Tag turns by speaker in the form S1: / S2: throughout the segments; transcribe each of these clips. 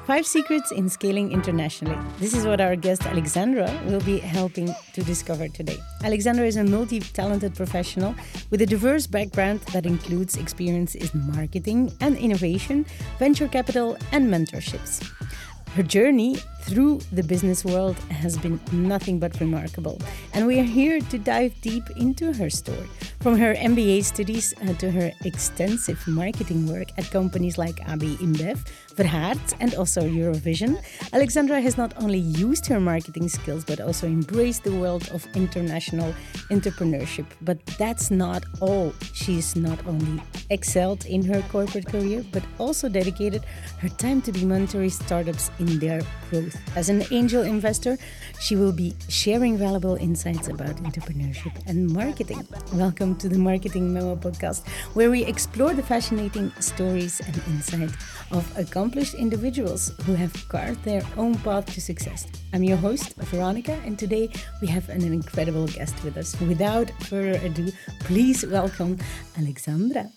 S1: 5 secrets in scaling internationally. This is what our guest Alexandra will be helping to discover today. Alexandra is a multi-talented professional with a diverse background that includes experience in marketing and innovation, venture capital, and mentorships. Her journey through the business world has been nothing but remarkable, and we are here to dive deep into her story. From her MBA studies to her extensive marketing work at companies like AB InBev, Verhaert, and also Eurovision, Alexandra has not only used her marketing skills but also embraced the world of international entrepreneurship. But that's not all. She's not only excelled in her corporate career but also dedicated her time to be mentoring startups in their growth. As an angel investor, she will be sharing valuable insights about entrepreneurship and marketing. Welcome to the Marketing Memo podcast, where we explore the fascinating stories and insight of accomplished individuals who have carved their own path to success. I'm your host, Veronica, and today we have an incredible guest with us. Without further ado, please welcome Alexandra.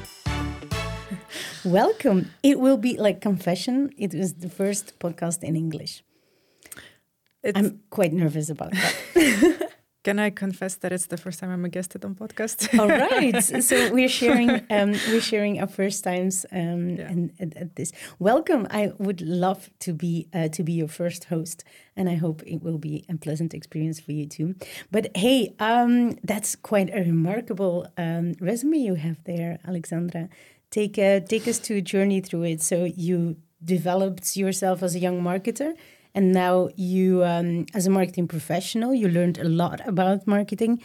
S1: Welcome. It will be like confession. It was the first podcast in English. I'm quite nervous about that.
S2: Can I confess that it's the first time I'm a guest on podcast?
S1: All right. So we're sharing our first times at this. Welcome. I would love to be your first host, and I hope it will be a pleasant experience for you too. But hey, that's quite a remarkable resume you have there, Alexandra. Take us to a journey through it. So you developed yourself as a young marketer, and now you, as a marketing professional, you learned a lot about marketing.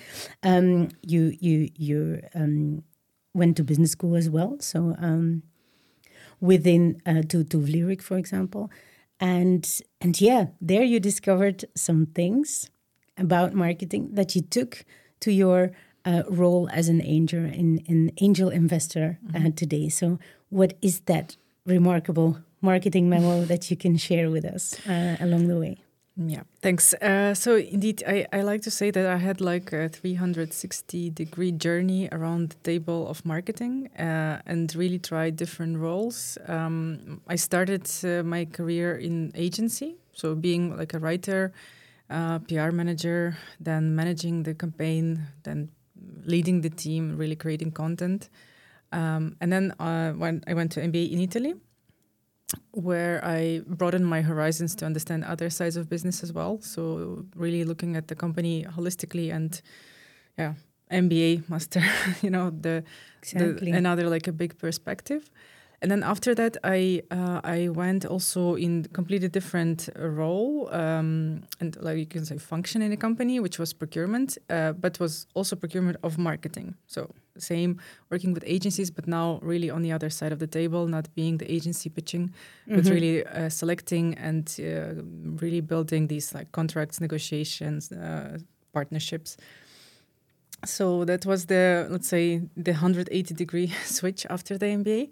S1: You went to business school as well. So within to Lyric, for example, and yeah, there you discovered some things about marketing that you took to your role as an angel investor today. So what is that remarkable marketing memo that you can share with us along the way?
S2: Yeah, thanks. So indeed, I like to say that I had like a 360-degree journey around the table of marketing and really tried different roles. I started my career in agency, so being like a writer, PR manager, then managing the campaign, then leading the team, really creating content. And then when I went to MBA in Italy, where I broadened my horizons to understand other sides of business as well. So really looking at the company holistically and MBA master, another like a big perspective. And then after that, I went also in completely different role and like you can say function in a company, which was procurement, but was also procurement of marketing. So same working with agencies, but now really on the other side of the table, not being the agency pitching, but really selecting and really building these like contracts, negotiations, partnerships. So that was the 180-degree switch after the MBA.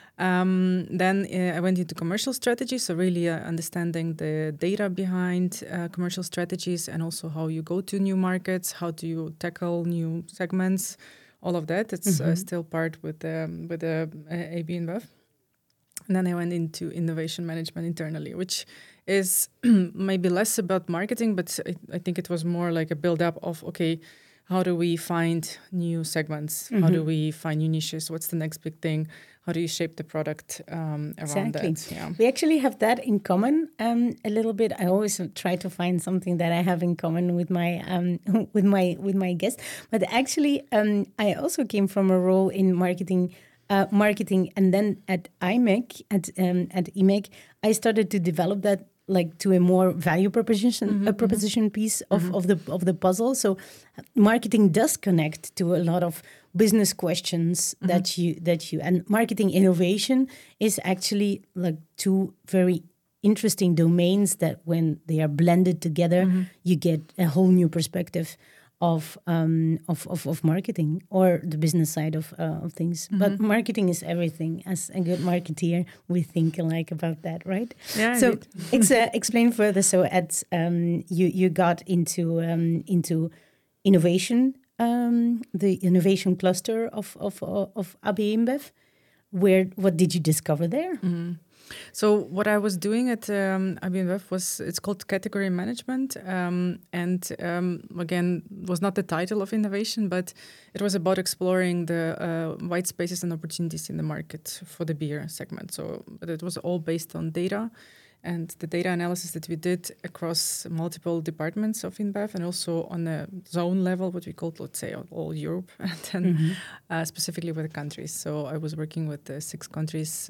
S2: Then I went into commercial strategy, so really understanding the data behind commercial strategies and also how you go to new markets, how do you tackle new segments, all of that. It's still part with the AB InBev. And then I went into innovation management internally, which is maybe less about marketing, but I think it was more like a build-up of, okay, how do we find new segments? How do we find new niches? What's the next big thing? How do you shape the product around that?
S1: Yeah. We actually have that in common a little bit. I always try to find something that I have in common with my with my guests. But actually, I also came from a role in marketing, and then at IMEC, at IMEC, I started to develop that like to a more value proposition piece of the puzzle. So marketing does connect to a lot of business questions that you and marketing innovation is actually like two very interesting domains that when they are blended together, you get a whole new perspective of marketing or the business side of things. But marketing is everything. As a good marketeer, we think alike about that, right?
S2: Yeah.
S1: So explain further. So at you got into innovation, the innovation cluster of AB InBev. What did you discover there?
S2: So what I was doing at IBM it's called category management, and again, was not the title of innovation, but it was about exploring the white spaces and opportunities in the market for the beer segment. So but it was all based on data, and the data analysis that we did across multiple departments of InBev, and also on a zone level, what we called, let's say, all Europe, and then specifically with the countries. So I was working with the 6 countries.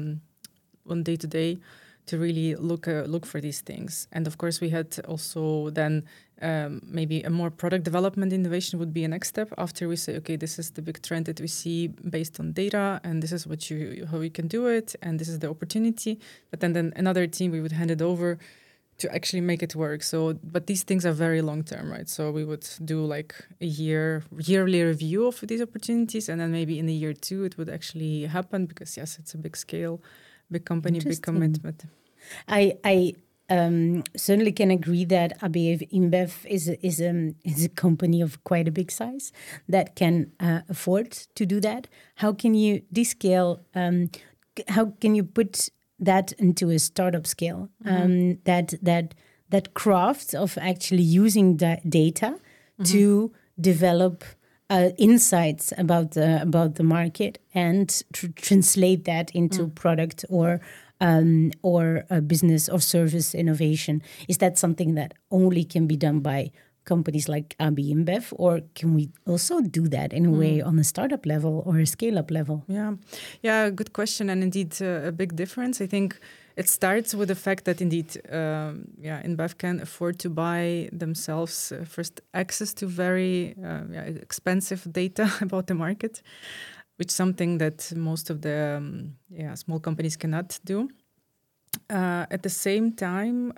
S2: On day to day, to really look for these things. And of course, we had also then maybe a more product development innovation would be a next step after we say, okay, this is the big trend that we see based on data, and this is how we can do it, and this is the opportunity. But then another team, we would hand it over to actually make it work. So, but these things are very long term, right? So we would do like a yearly review of these opportunities, and then maybe in a year 2 it would actually happen, because yes, it's a big scale. Big company, big commitment.
S1: I certainly can agree that ABF InBev is a company of quite a big size that can afford to do that. How can you descale? How can you put that into a startup scale? That craft of actually using data to develop insights about the market and translate that into product or a business or service innovation. Is that something that only can be done by companies like AB InBev, or can we also do that in a way on a startup level or a scale-up level?
S2: Yeah, good question, and indeed a big difference. I think it starts with the fact that indeed, InBev can afford to buy themselves first access to very expensive data about the market, which is something that most of the small companies cannot do. At the same time,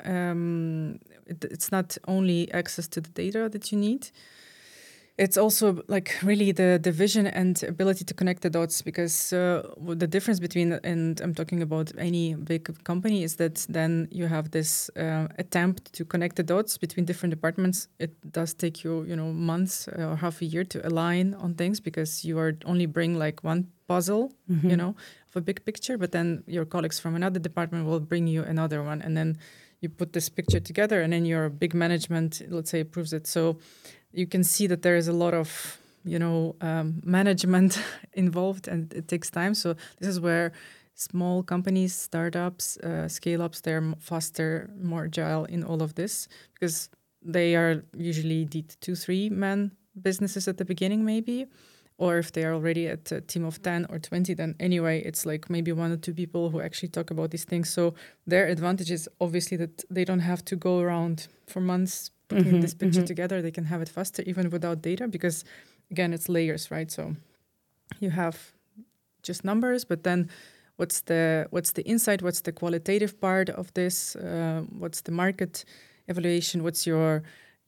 S2: it's not only access to the data that you need. It's also like really the vision and ability to connect the dots, because the difference between, and I'm talking about any big company, is that then you have this attempt to connect the dots between different departments. It does take you, months or half a year to align on things, because you are only bring like one puzzle, of a big picture, but then your colleagues from another department will bring you another one, and then you put this picture together, and then your big management, let's say, approves it. So you can see that there is a lot of, management involved, and it takes time. So this is where small companies, startups, scale-ups, they're faster, more agile in all of this, because they are usually the 2-3 man businesses at the beginning, maybe. Or if they are already at a team of 10 or 20, then anyway, it's like maybe 1 or 2 people who actually talk about these things. So their advantage is obviously that they don't have to go around for months putting this picture together. They can have it faster, even without data, because again, it's layers, right? So you have just numbers, but then what's the insight? What's the qualitative part of this? What's the market evaluation? What's your,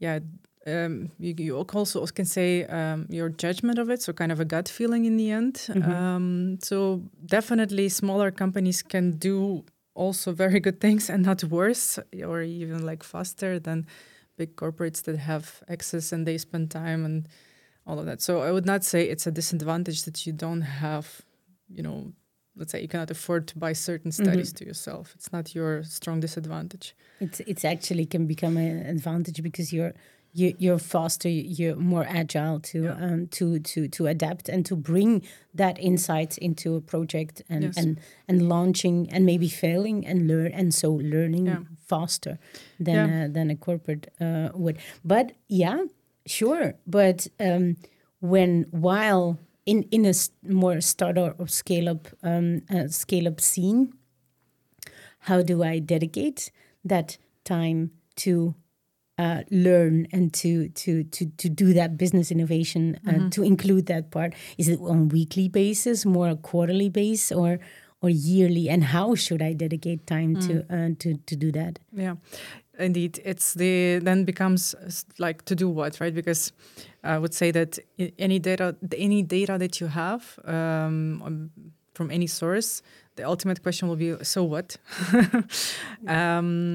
S2: you also can say your judgment of it, so kind of a gut feeling in the end. So definitely smaller companies can do also very good things, and not worse, or even like faster than big corporates that have access and they spend time and all of that. So I would not say it's a disadvantage that you don't have, let's say you cannot afford to buy certain studies to yourself. It's not your strong disadvantage.
S1: It's actually can become an advantage, because you're faster, you're more agile to adapt and to bring that insight into a project and launching and maybe failing and learning faster than a corporate would. But sure. But while in a more startup or scale up scene, how do I dedicate that time to learn and to do that business innovation, to include that part? Is it on weekly basis, more a quarterly base, or yearly? And how should I dedicate time to do that?
S2: Yeah, indeed. Then becomes like to do what, right? Because I would say that any data that you have from any source, the ultimate question will be, so what?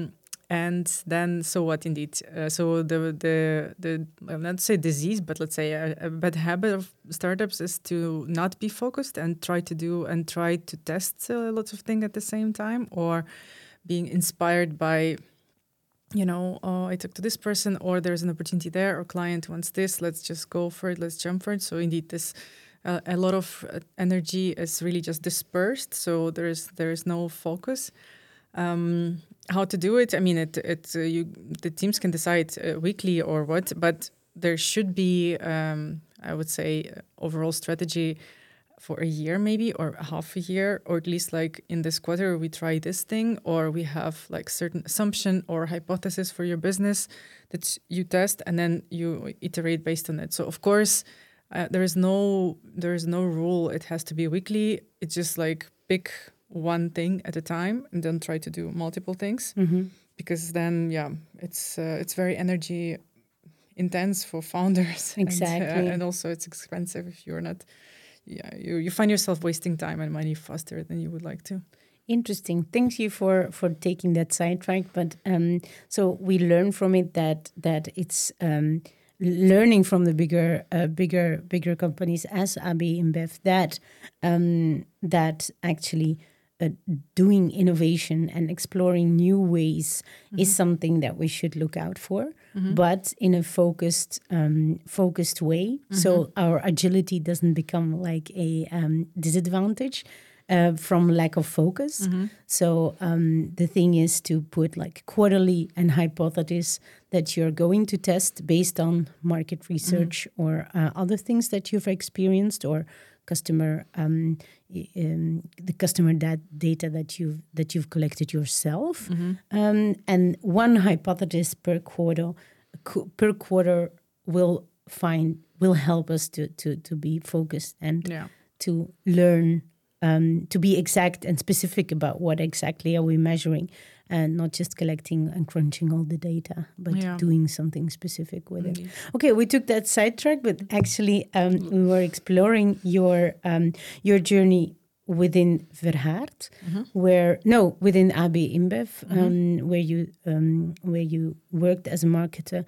S2: And then, so what? Indeed, so the I'll not say disease, but let's say a bad habit of startups is to not be focused and try to test lots of things at the same time, or being inspired by, oh, I talked to this person, or there's an opportunity there, or client wants this, let's just go for it, let's jump for it. So indeed, this a lot of energy is really just dispersed. So there is no focus. How to do it? I mean, the teams can decide weekly or what, but there should be, I would say, overall strategy for a year maybe, or half a year, or at least like in this quarter we try this thing, or we have like certain assumption or hypothesis for your business that you test and then you iterate based on it. So of course, there is no rule. It has to be weekly. It's just like pick one thing at a time and then try to do multiple things, because then it's very energy intense for founders.
S1: Exactly.
S2: And also it's expensive if you're not you find yourself wasting time and money faster than you would like to.
S1: Interesting. Thank you for taking that sidetrack. But so we learn from it that it's learning from the bigger companies as AB InBev that actually doing innovation and exploring new ways is something that we should look out for, but in a focused way. So our agility doesn't become like a disadvantage from lack of focus. So the thing is to put like quarterly and hypothesis that you're going to test based on market research or other things that you've experienced, or customer the customer data that you've collected yourself, and one hypothesis per quarter will help us to be focused and to learn, to be exact and specific about what exactly are we measuring, and not just collecting and crunching all the data, but doing something specific with it. Okay, we took that sidetrack, but actually we were exploring your journey within Verhaert, within AB InBev, where you worked as a marketer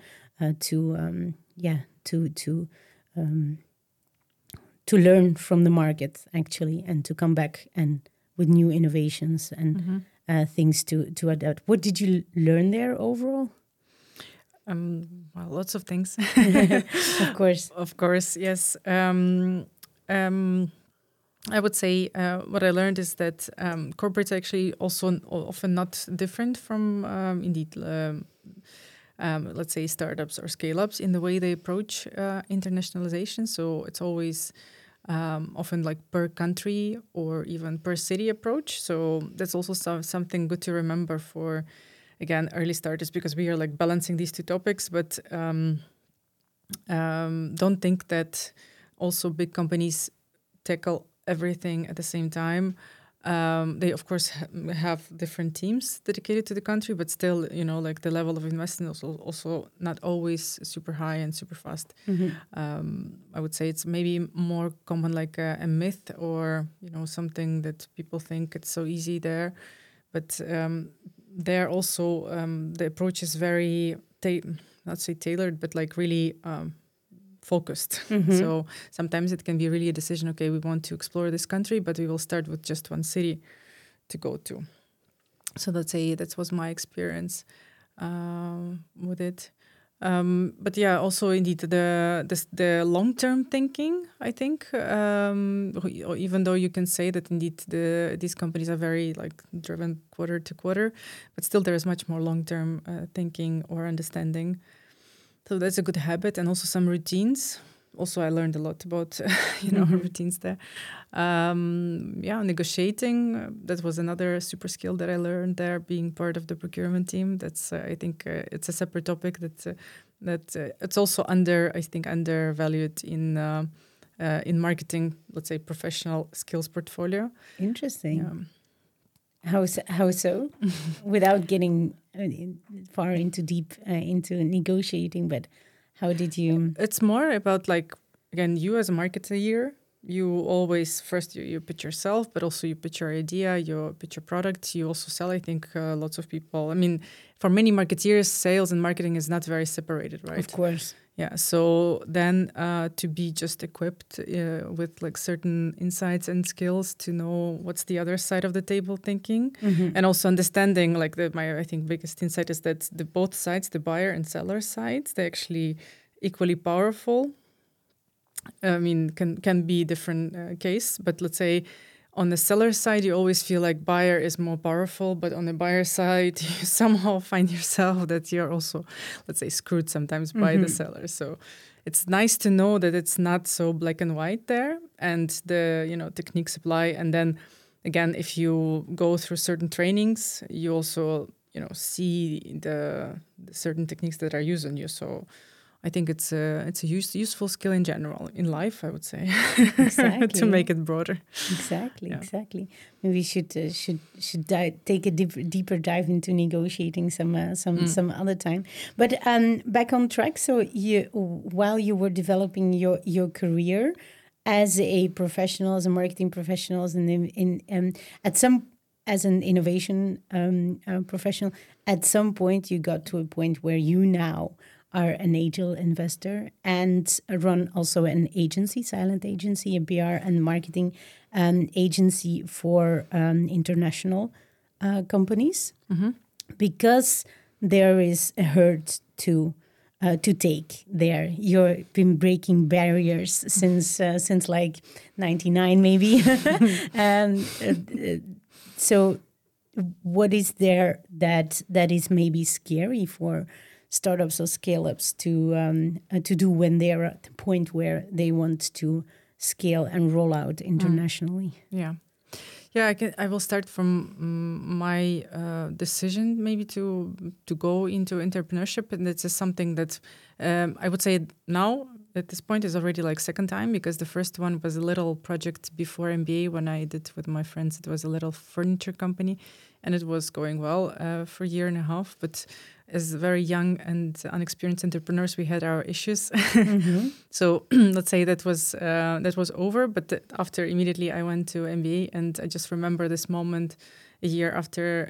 S1: to learn from the market actually, and to come back and with new innovations and things to adapt. What did you learn there overall?
S2: Well, lots of things. Of course, yes. I would say what I learned is that corporates are actually also often not different from let's say startups or scale-ups in the way they approach internationalization. So it's always often like per country or even per city approach. So that's also something good to remember for, again, early starters, because we are like balancing these two topics. But don't think that also big companies tackle everything at the same time. They of course have different teams dedicated to the country, but still, like the level of investment is also not always super high and super fast. I would say it's maybe more common like a myth, or something that people think it's so easy there, but there also the approach is very not say tailored, but like really focused. So sometimes it can be really a decision, okay, we want to explore this country, but we will start with just one city to go to. So that was my experience with it. But yeah, also indeed the long-term thinking, I think, even though you can say that indeed these companies are very like driven quarter to quarter, but still there is much more long-term thinking or understanding. So that's a good habit, and also some routines. Also, I learned a lot about routines there. Negotiating. That was another super skill that I learned there. Being part of the procurement team. That's I think it's a separate topic that it's also undervalued in marketing. Let's say professional skills portfolio.
S1: Interesting. Yeah. How so? Without getting far into negotiating, but how did you?
S2: It's more about like, again, you as a marketer you always first you pitch yourself, but also you pitch your idea, you pitch your product, you also sell. I think lots of people, I mean, for many marketeers, sales and marketing is not very separated, right?
S1: Of course.
S2: Yeah, so then to be just equipped with like certain insights and skills to know what's the other side of the table thinking, and also understanding like my I think biggest insight is that the both sides, the buyer and seller sides, they're actually equally powerful. I mean, can be different case, but let's say on the seller side, you always feel like buyer is more powerful, but on the buyer side, you somehow find yourself that you're also, let's say, screwed sometimes by the seller. So it's nice to know that it's not so black and white there, and the techniques apply. And then again, if you go through certain trainings, you also see the certain techniques that are used on you. So I think it's a useful skill in general in life, I would say,
S1: Exactly.
S2: to make it broader.
S1: Exactly. Maybe we should take a deeper dive into negotiating some other time. But back on track. So while you were developing your career as a professional, as a marketing professional, as an innovation professional, at some point you got to a point where you now are an angel investor and run also an agency, silent agency, a PR and marketing agency for international companies, because there is a herd to take there. You've been breaking barriers since like 99 maybe. So what is there that is maybe scary for startups or scale-ups to do when they're at the point where they want to scale and roll out internationally?
S2: Yeah, I will start from my decision maybe to go into entrepreneurship, and it's just something that I would say now at this point is already like second time, because the first one was a little project before MBA when I did with my friends. It was a little furniture company, and it was going well for a year and a half, but as very young and unexperienced entrepreneurs, we had our issues. So let's say that was over. But after immediately, I went to MBA, and I just remember this moment a year after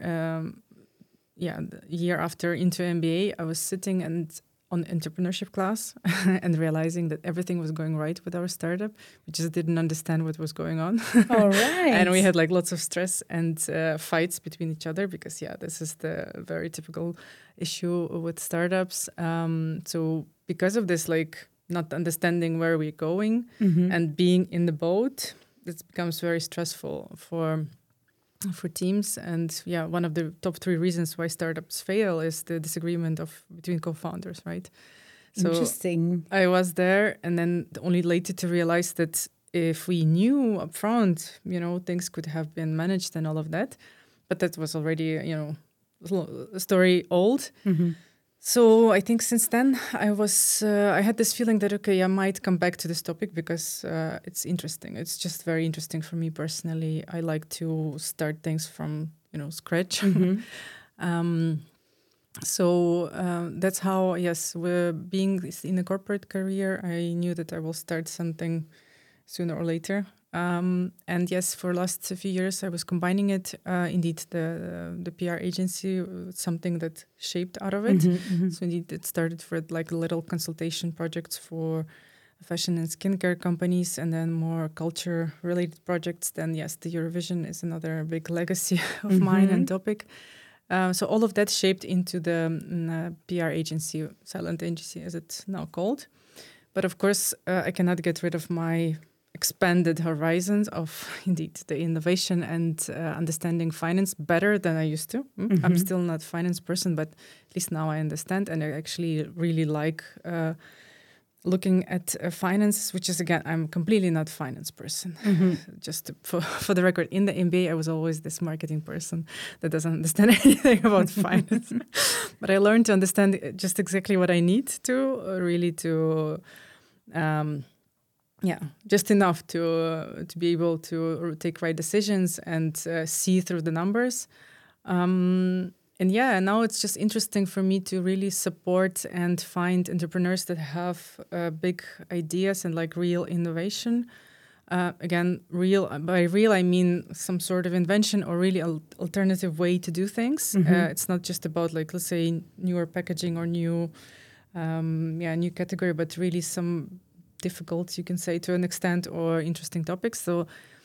S2: into MBA, I was sitting on entrepreneurship class and realizing that everything was going right with our startup. We just didn't understand what was going on.
S1: All right.
S2: And we had like lots of stress and fights between each other, because this is the very typical issue with startups. So because of this, like not understanding where we're going and being in the boat, it becomes very stressful for teams. And one of the top 3 reasons why startups fail is the disagreement between co-founders, right? So
S1: interesting.
S2: I was there, and then only later to realize that if we knew upfront, things could have been managed and all of that. But that was already, a story old. So I think since then I had this feeling that, okay, I might come back to this topic because it's interesting. It's just very interesting for me personally. I like to start things from, scratch. So that's how, we're being in a corporate career, I knew that I will start something sooner or later. And yes, for last few years, I was combining it. Indeed, the PR agency, something that shaped out of it. So indeed, it started for like little consultation projects for fashion and skincare companies, and then more culture-related projects. Then yes, the Eurovision is another big legacy of mine and topic. So all of that shaped into the PR agency, silent agency as it's now called. But of course, I cannot get rid of my expanded horizons of indeed the innovation and understanding finance better than I used to. I'm still not a finance person, but at least now I understand, and I actually really like looking at finance, which is, again, I'm completely not a finance person. Just for the record, in the MBA, I was always this marketing person that doesn't understand anything about finance. But I learned to understand just exactly what I need to really to... just enough to be able to take right decisions and see through the numbers. And now it's just interesting for me to really support and find entrepreneurs that have big ideas and like real innovation. Again, by real, I mean some sort of invention or really alternative way to do things. It's not just about like, let's say, newer packaging or new category, but really some difficult, you can say, to an extent, or interesting topics. So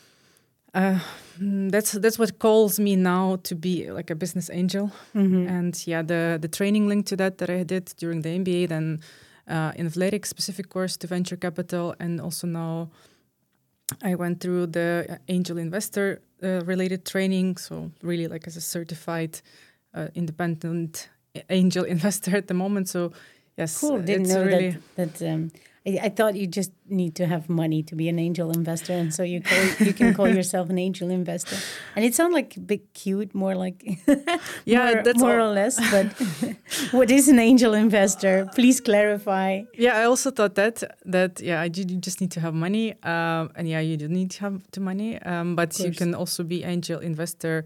S2: that's what calls me now to be like a business angel. And the training linked to that I did during the MBA, then in athletics specific course to venture capital, and also now I went through the angel investor related training. So really like as a certified independent angel investor at the moment. So yes,
S1: cool. Didn't know
S2: really
S1: that. I thought you just need to have money to be an angel investor, and so you can call yourself an angel investor. And it sounds like a bit cute, more like more or less. But what is an angel investor? Please clarify.
S2: Yeah, I also thought that you just need to have money, and you do need to have the money, but you can also be angel investor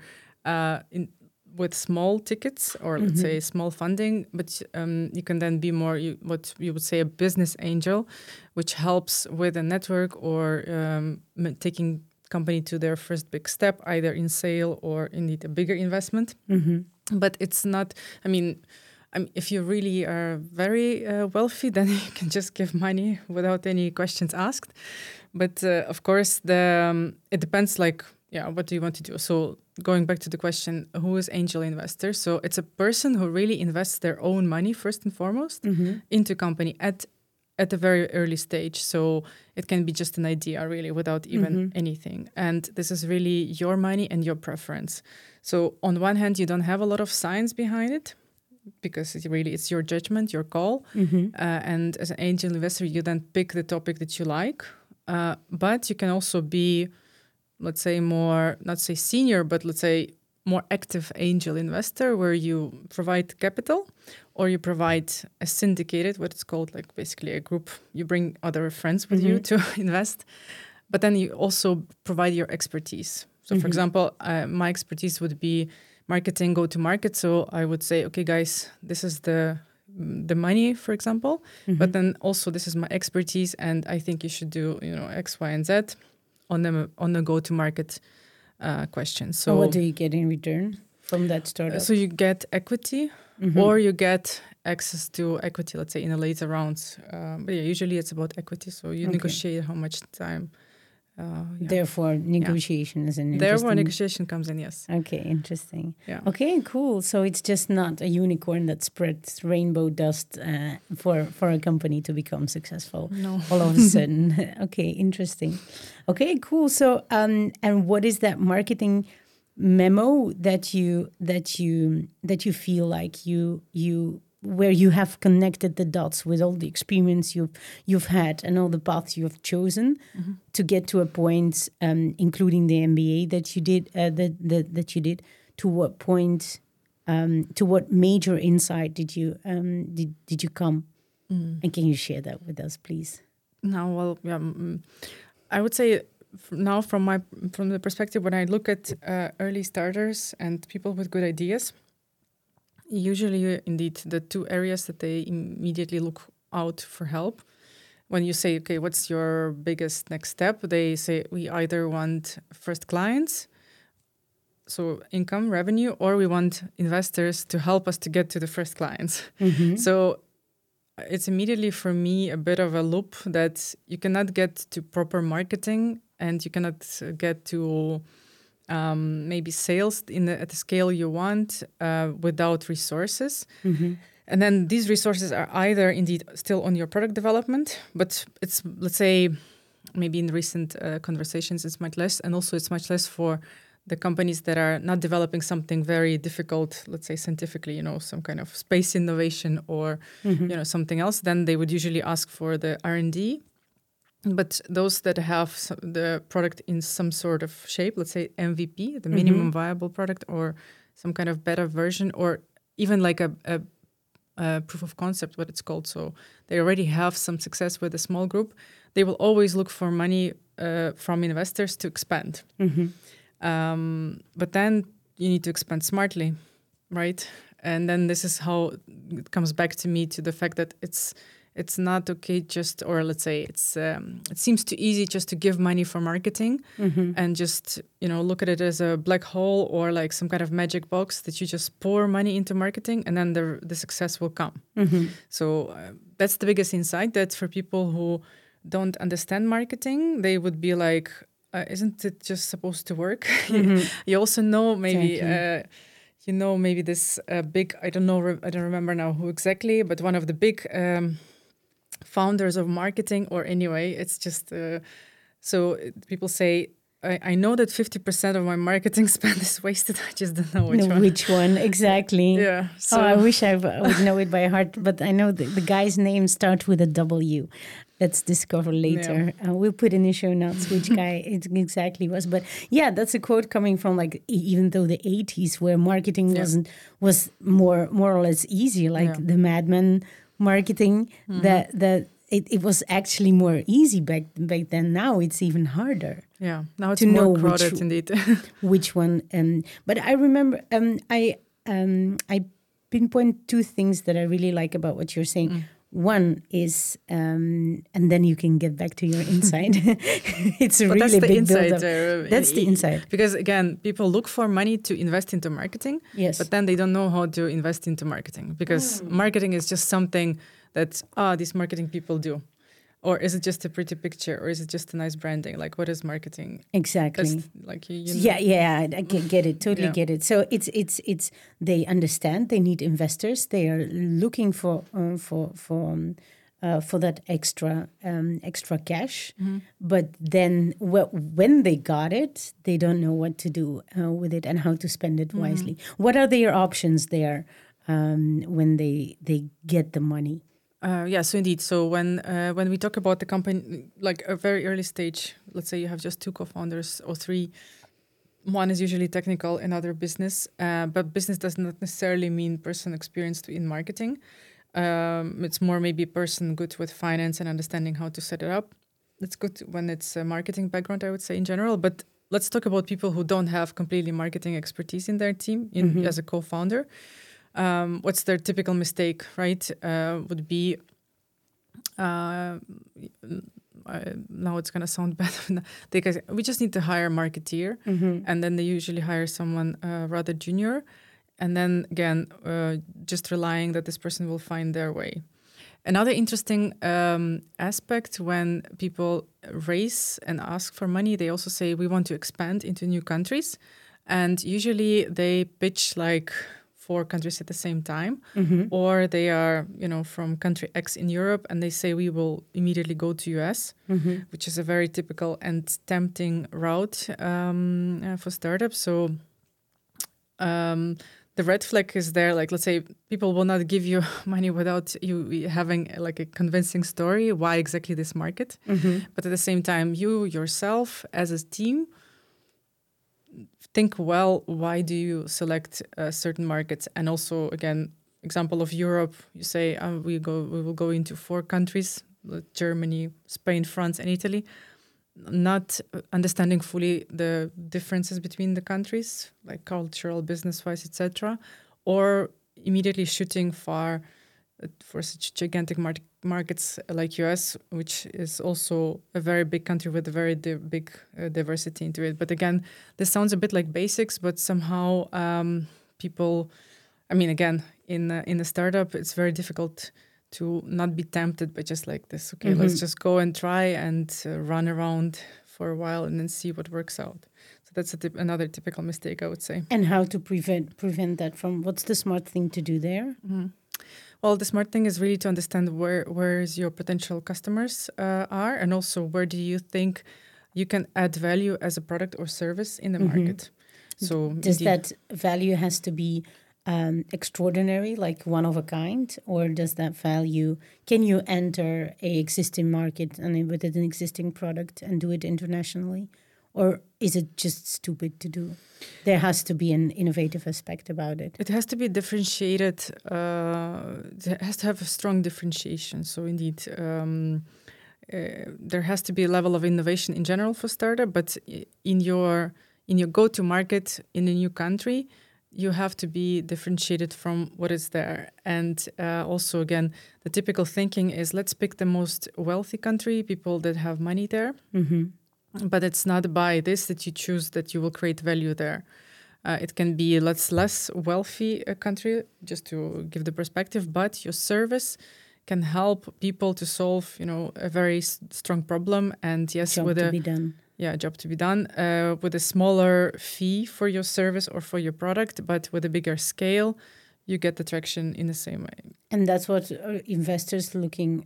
S2: with small tickets or let's say small funding, but you can then be more what you would say a business angel, which helps with a network or taking company to their first big step, either in sale or indeed a bigger investment. But it's not, if you really are very wealthy, then you can just give money without any questions asked. But of course, it depends what do you want to do? So going back to the question, who is angel investor? So it's a person who really invests their own money first and foremost into company at a very early stage. So it can be just an idea really without even anything. And this is really your money and your preference. So on one hand, you don't have a lot of science behind it because it's your judgment, your call. And as an angel investor, you then pick the topic that you like. But you can also be, let's say more, not say senior, but let's say more active angel investor where you provide capital or you provide a syndicated, what it's called, like basically a group. You bring other friends with you to invest, but then you also provide your expertise. So for example, my expertise would be marketing, go-to-market. So I would say, okay, guys, this is the money, for example, but then also this is my expertise and I think you should do, X, Y, and Z on the go-to-market question. So
S1: what do you get in return from that startup?
S2: So you get equity or you get access to equity, let's say in a later round. But usually it's about equity. So you negotiate how much time.
S1: Therefore, negotiation is an interesting...
S2: Therefore, negotiation comes in, yes.
S1: Okay, interesting.
S2: Yeah.
S1: Okay, cool. So it's just not a unicorn that spreads rainbow dust for a company to become successful all of a sudden. Okay, interesting. Okay, cool. So, and what is that marketing memo that you feel like you where you have connected the dots with all the experience you've had and all the paths you have chosen to get to a point, including the MBA that you did, that you did. To what point, to what major insight did you come? And can you share that with us, please?
S2: I would say now from the perspective when I look at early starters and people with good ideas. Usually, indeed, the two areas that they immediately look out for help. When you say, okay, what's your biggest next step? They say, we either want first clients, so income, revenue, or we want investors to help us to get to the first clients. So it's immediately for me a bit of a loop that you cannot get to proper marketing and you cannot get to... maybe sales at the scale you want without resources. And then these resources are either indeed still on your product development, but it's, let's say, maybe in recent conversations, it's much less. And also it's much less for the companies that are not developing something very difficult, let's say scientifically, some kind of space innovation or, something else. Then they would usually ask for the R&D. But those that have the product in some sort of shape, let's say MVP, the minimum viable product, or some kind of better version, or even like a proof of concept, what it's called. So they already have some success with a small group. They will always look for money from investors to expand. But then you need to expand smartly, right? And then this is how it comes back to me to the fact that it's not okay just, or let's say it seems too easy just to give money for marketing and just, look at it as a black hole or like some kind of magic box that you just pour money into marketing and then the success will come. So that's the biggest insight, that for people who don't understand marketing, they would be like, isn't it just supposed to work? You also know maybe... Exactly. Maybe this big, I don't remember now who exactly, but one of the big founders of marketing, or anyway, it's just, so people say, I know that 50% of my marketing spend is wasted. I just don't know which one.
S1: Which one, exactly.
S2: Yeah. So.
S1: I wish I would know it by heart, but I know the guy's name starts with a W. Let's discover later. Yeah. We'll put in the show notes which guy it exactly was. But yeah, that's a quote coming from like even though the 80s where marketing was more or less easy, like the Mad Men marketing, that it was actually more easy back then. Now it's even harder.
S2: Yeah, now it's more crowded indeed.
S1: Which one? But I remember I pinpoint two things that I really like about what you're saying. One is, and then you can get back to your insight. It's a really
S2: that's the
S1: big
S2: insight.
S1: That's the insight.
S2: Because again, people look for money to invest into marketing, but then they don't know how to invest into marketing because marketing is just something that these marketing people do. Or is it just a pretty picture? Or is it just a nice branding? Like, what is marketing?
S1: Exactly.
S2: That's like
S1: Yeah, I get it. Totally get it. So it's they understand they need investors. They are looking for that extra cash. But then when they got it, they don't know what to do with it and how to spend it wisely. What are their options there when they get the money?
S2: So indeed. So when we talk about the company, like a very early stage, let's say you have just 2 co-founders or 3, one is usually technical, another business. But business does not necessarily mean person experienced in marketing. It's more maybe a person good with finance and understanding how to set it up. It's good when it's a marketing background, I would say in general. But let's talk about people who don't have completely marketing expertise in their team as a co-founder. What's their typical mistake, right? Would be, now it's going to sound bad, because we just need to hire a marketeer, and then they usually hire someone rather junior, and then again, just relying that this person will find their way. Another interesting aspect when people raise and ask for money, they also say, we want to expand into new countries, and usually they pitch like 4 countries at the same time, or they are, from country X in Europe, and they say we will immediately go to US, which is a very typical and tempting route for startups. So the red flag is there. Like, let's say people will not give you money without you having like a convincing story why exactly this market. But at the same time, you yourself as a team think, well, why do you select certain markets? And also, again, example of Europe, you say we will go into 4 countries, Germany, Spain, France, and Italy, not understanding fully the differences between the countries, like cultural, business-wise, etc., or immediately shooting far for such gigantic markets like US, which is also a very big country with a very big diversity into it. But again, this sounds a bit like basics, but somehow people, I mean, again, in a startup, it's very difficult to not be tempted by just like this. Okay, let's just go and try and run around for a while and then see what works out. So that's another typical mistake, I would say.
S1: And how to prevent that from, what's the smart thing to do there?
S2: Well, the smart thing is really to understand where your potential customers are, and also where do you think you can add value as a product or service in the market. So
S1: does that value has to be extraordinary, like one of a kind, or does that value, can you enter a existing market and with an existing product and do it internationally? Or is it just stupid to do? There has to be an innovative aspect about it.
S2: It has to be differentiated. It has to have a strong differentiation. So indeed, there has to be a level of innovation in general for startup. But in your go-to market in a new country, you have to be differentiated from what is there. And also, again, the typical thinking is let's pick the most wealthy country, people that have money there. But it's not by this that you choose that you will create value there. It can be a less wealthy country, just to give the perspective, but your service can help people to solve, a very strong problem. And yes,
S1: job to be done.
S2: Yeah, job to be done with a smaller fee for your service or for your product, but with a bigger scale, you get the traction in the same way.
S1: And that's what investors looking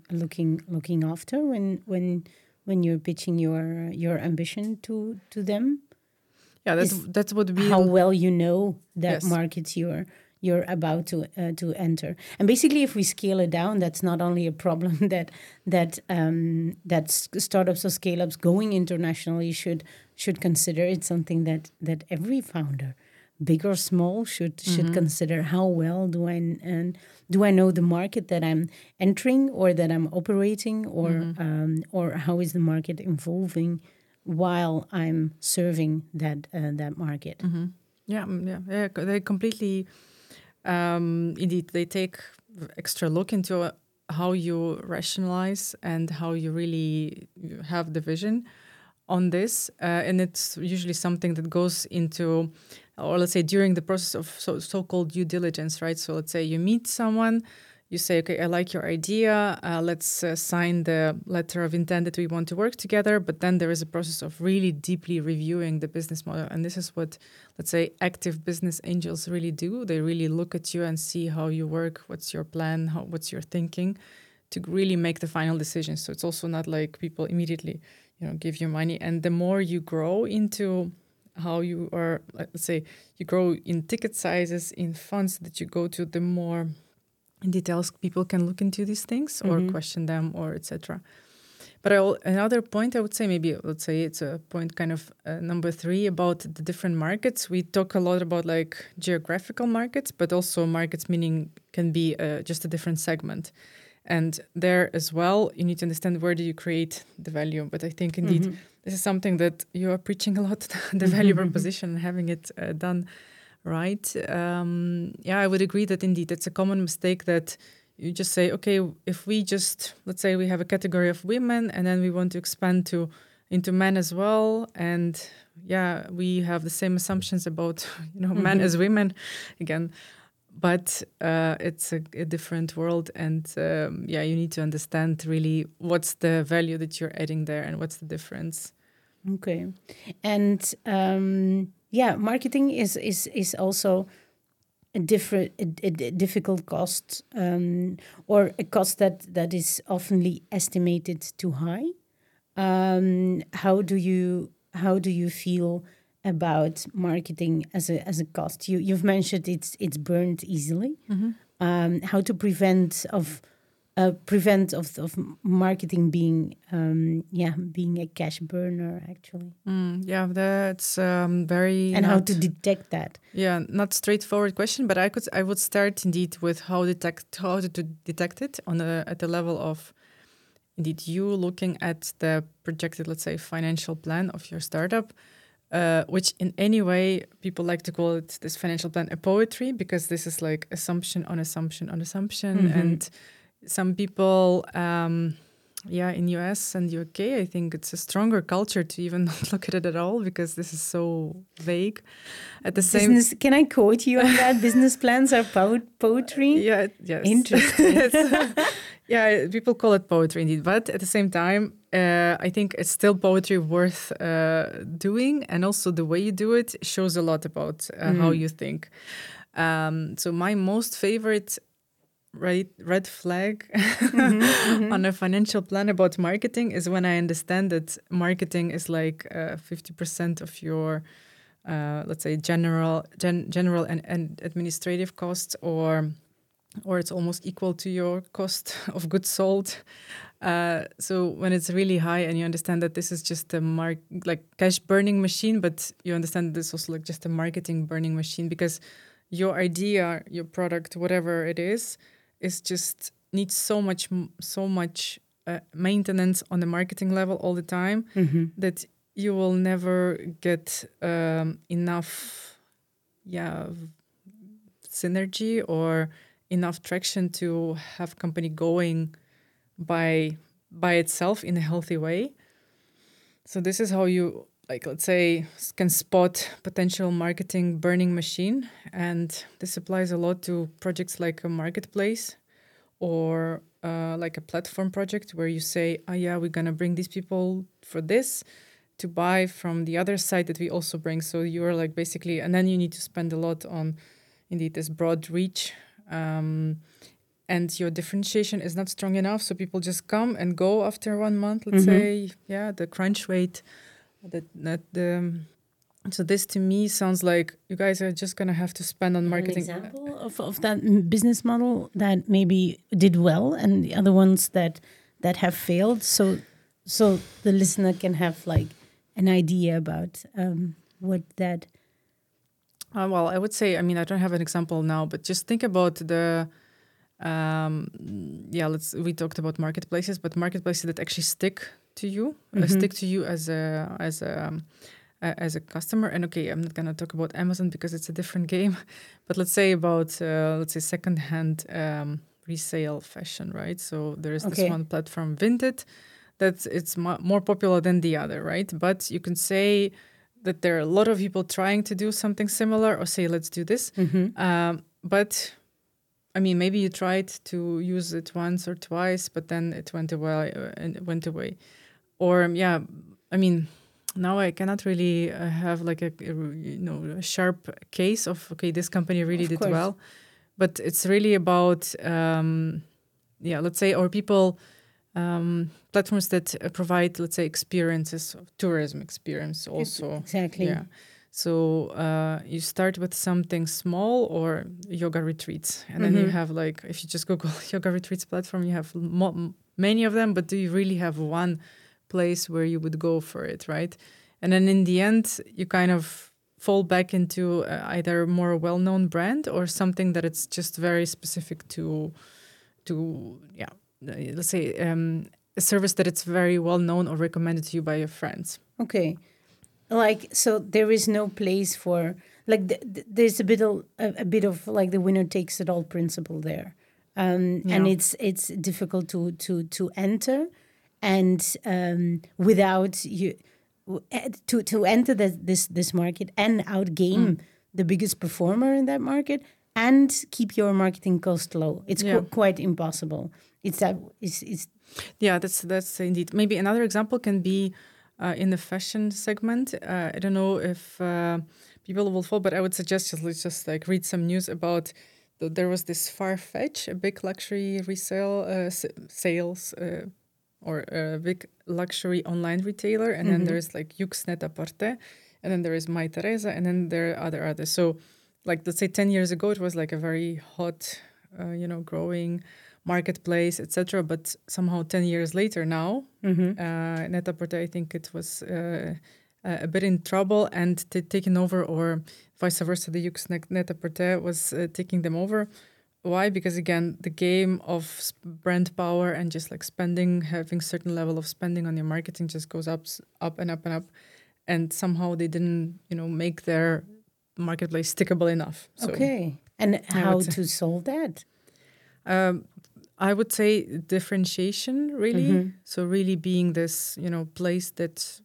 S1: after when you're pitching your ambition to them.
S2: Yeah, that's what we
S1: how well you know that markets you're about to enter. And basically, if we scale it down, that's not only a problem that startups or scale-ups going internationally should consider. It's something that every founder, big or small, should consider. How well do I know the market that I'm entering or that I'm operating, or how is the market evolving while I'm serving that market?
S2: Yeah, they completely. Indeed, they take extra look into how you rationalize and how you really have the vision on this. And it's usually something that goes into, or let's say during the process of so-called due diligence, right? So let's say you meet someone, you say, okay, I like your idea. Let's sign the letter of intent that we want to work together. But then there is a process of really deeply reviewing the business model. And this is what, let's say, active business angels really do. They really look at you and see how you work, what's your plan, what's your thinking, to really make the final decision. So it's also not like people immediately, give you money. And the more you grow into how you are, let's say, you grow in ticket sizes, in funds that you go to, the more in details people can look into these things or question them or etc. But another point I would say, maybe let's say it's a point kind of number 3 about the different markets. We talk a lot about like geographical markets, but also markets meaning can be just a different segment. And there as well, you need to understand where do you create the value. But I think indeed this is something that you are preaching a lot, the value proposition and having it done right. I would agree that indeed it's a common mistake that you just say, okay, if we just, let's say we have a category of women and then we want to expand into men as well. And we have the same assumptions about, men as women again. But it's a different world. And you need to understand really what's the value that you're adding there and what's the difference.
S1: Okay. And marketing is also a difficult cost, or a cost that is often estimated too high. How do you feel about marketing as a cost? You've mentioned it's burned easily. How to prevent of marketing being a cash burner, actually.
S2: That's very.
S1: And how to detect that?
S2: Yeah, not straightforward question, but I would start indeed with how to detect it at the level of indeed you looking at the projected, let's say, financial plan of your startup. Which in any way, people like to call it, this financial plan, a poetry, because this is like assumption on assumption on assumption. And some people, in US and UK, I think it's a stronger culture to even not look at it at all, because this is so vague. At the same,
S1: can I quote you on that? Business plans are poetry?
S2: Yeah, yes.
S1: Interesting.
S2: People call it poetry indeed. But at the same time, I think it's still poetry worth doing. And also the way you do it shows a lot about how you think. So my most favorite red flag on a financial plan about marketing is when I understand that marketing is like 50% of your, let's say, general and administrative costs, or it's almost equal to your cost of goods sold. So when it's really high and you understand that this is just a cash burning machine, but you understand this is also like just a marketing burning machine, because your idea, your product, whatever it is just needs so much maintenance on the marketing level all the time that you will never get enough synergy or enough traction to have company going by itself in a healthy way. So this is how you, like, let's say, can spot potential marketing burning machine. And this applies a lot to projects like a marketplace or like a platform project where you say, oh yeah, we're going to bring these people for this to buy from the other side that we also bring. So you're like basically, and then you need to spend a lot on indeed this broad reach. And your differentiation is not strong enough. So people just come and go after 1 month, let's say, yeah, the crunch rate. So this to me sounds like you guys are just going to have to spend on marketing.
S1: An example of that business model that maybe did well and the other ones that have failed. So the listener can have like an idea about what that...
S2: Well, I would say, I mean, I don't have an example now, but just think about the... we talked about marketplaces, but marketplaces that actually stick to you as a customer. And okay, I'm not gonna talk about Amazon because it's a different game, but let's say about secondhand resale fashion, right? So there is this one platform, Vinted, that it's more popular than the other, right? But you can say that there are a lot of people trying to do something similar, or say, let's do this, but I mean, maybe you tried to use it once or twice, but then it went away. Or I mean, now I cannot really have like a sharp case of, okay, this company really did well. But it's really about, let's say, or people, platforms that provide, let's say, experiences, tourism experience also.
S1: Exactly.
S2: Yeah. So you start with something small, or yoga retreats. And then you have, like, if you just Google yoga retreats platform, you have many of them, but do you really have one place where you would go for it, right? And then in the end, you kind of fall back into either more well-known brand or something that it's just very specific to let's say a service that it's very well-known or recommended to you by your friends.
S1: Okay. Like, so there is no place for, like, there's a bit of like the winner takes it all principle there. And it's difficult to enter, and without you to enter this market and outgame the biggest performer in that market and keep your marketing cost low. It's quite impossible.
S2: That's indeed. Maybe another example can be in the fashion segment. I don't know if people will follow, but I would suggest let's just like read some news about. There was this Farfetch, a big luxury resale sales or a big luxury online retailer, and then there's like Yoox Net-a-Porter, and then there is Mytheresa, and then there are others. So, like, let's say 10 years ago, it was like a very hot, growing marketplace, etc. But somehow 10 years later now, Net-a-Porter, I think it was a bit in trouble and taken over, or vice versa, the Yoox Net-a-Porter was taking them over. Why? Because again, the game of brand power and just like spending, having certain level of spending on your marketing just goes up and up and up. And somehow they didn't, make their marketplace stickable enough. So,
S1: okay. And how to solve that?
S2: I would say differentiation, really. So really being this, place that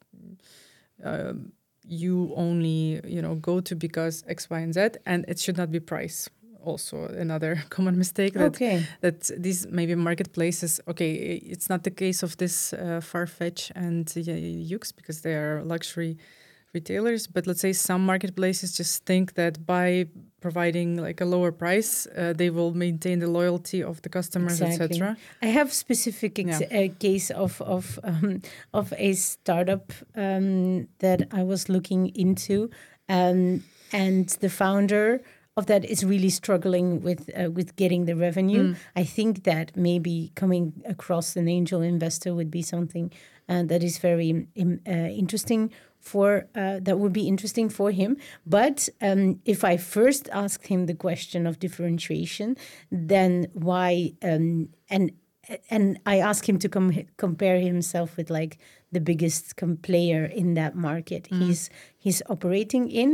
S2: you only, go to because X, Y, and Z, and it should not be price. Also another common mistake that these maybe marketplaces, it's not the case of this Farfetch and Yoox because they are luxury retailers, but let's say some marketplaces just think that by providing like a lower price, they will maintain the loyalty of the customers, etc.
S1: I have specific case of a startup that I was looking into, and the founder of that is really struggling with getting the revenue. I think that maybe coming across an angel investor would be something that is very interesting that would be interesting for him. But if I first asked him the question of differentiation, then why and I asked him to compare himself with like the biggest player in that market he's operating in.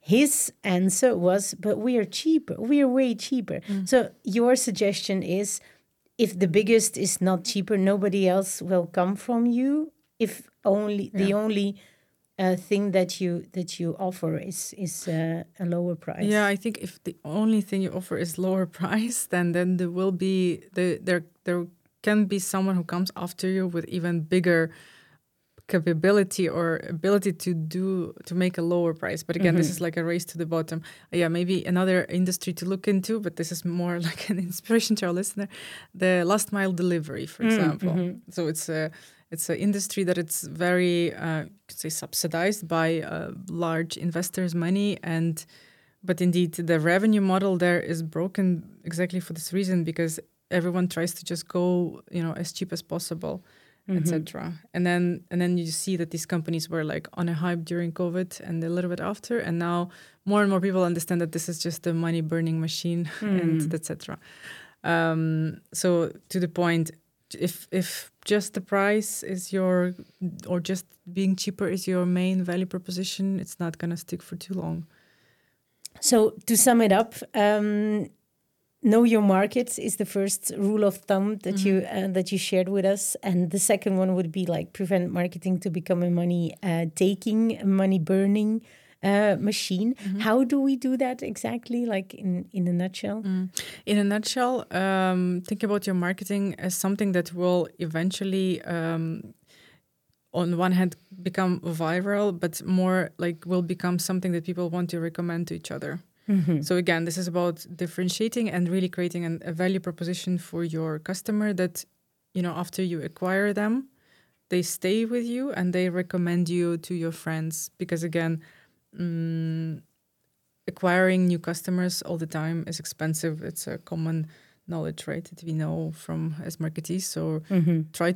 S1: his answer was, but we are cheaper. We are way cheaper. So your suggestion is, if the biggest is not cheaper, nobody else will come from you. If only the only thing that you offer is a lower price.
S2: Yeah, I think if the only thing you offer is lower price, then there will be there can be someone who comes after you with even bigger capability or ability to make a lower price. But again, this is like a race to the bottom. Yeah, maybe another industry to look into, but this is more like an inspiration to our listener. The last mile delivery, for example. So it's an industry that it's very could say subsidized by large investors' money, but indeed the revenue model there is broken exactly for this reason, because everyone tries to just go as cheap as possible, etc. And then you see that these companies were like on a hype during COVID and a little bit after, and now more and more people understand that this is just a money burning machine and etc. So to the point, if just the price is or just being cheaper is your main value proposition, it's not going to stick for too long.
S1: So to sum it up, know your market is the first rule of thumb that you shared with us, and the second one would be like prevent marketing to become a money taking, money burning machine. How do we do that exactly, like in a nutshell?
S2: In a nutshell, think about your marketing as something that will eventually on one hand become viral, but more like will become something that people want to recommend to each other. So again, this is about differentiating and really creating a value proposition for your customer that, after you acquire them, they stay with you and they recommend you to your friends. Because again, acquiring new customers all the time is expensive. It's a common knowledge, right, that we know from as marketeers. So try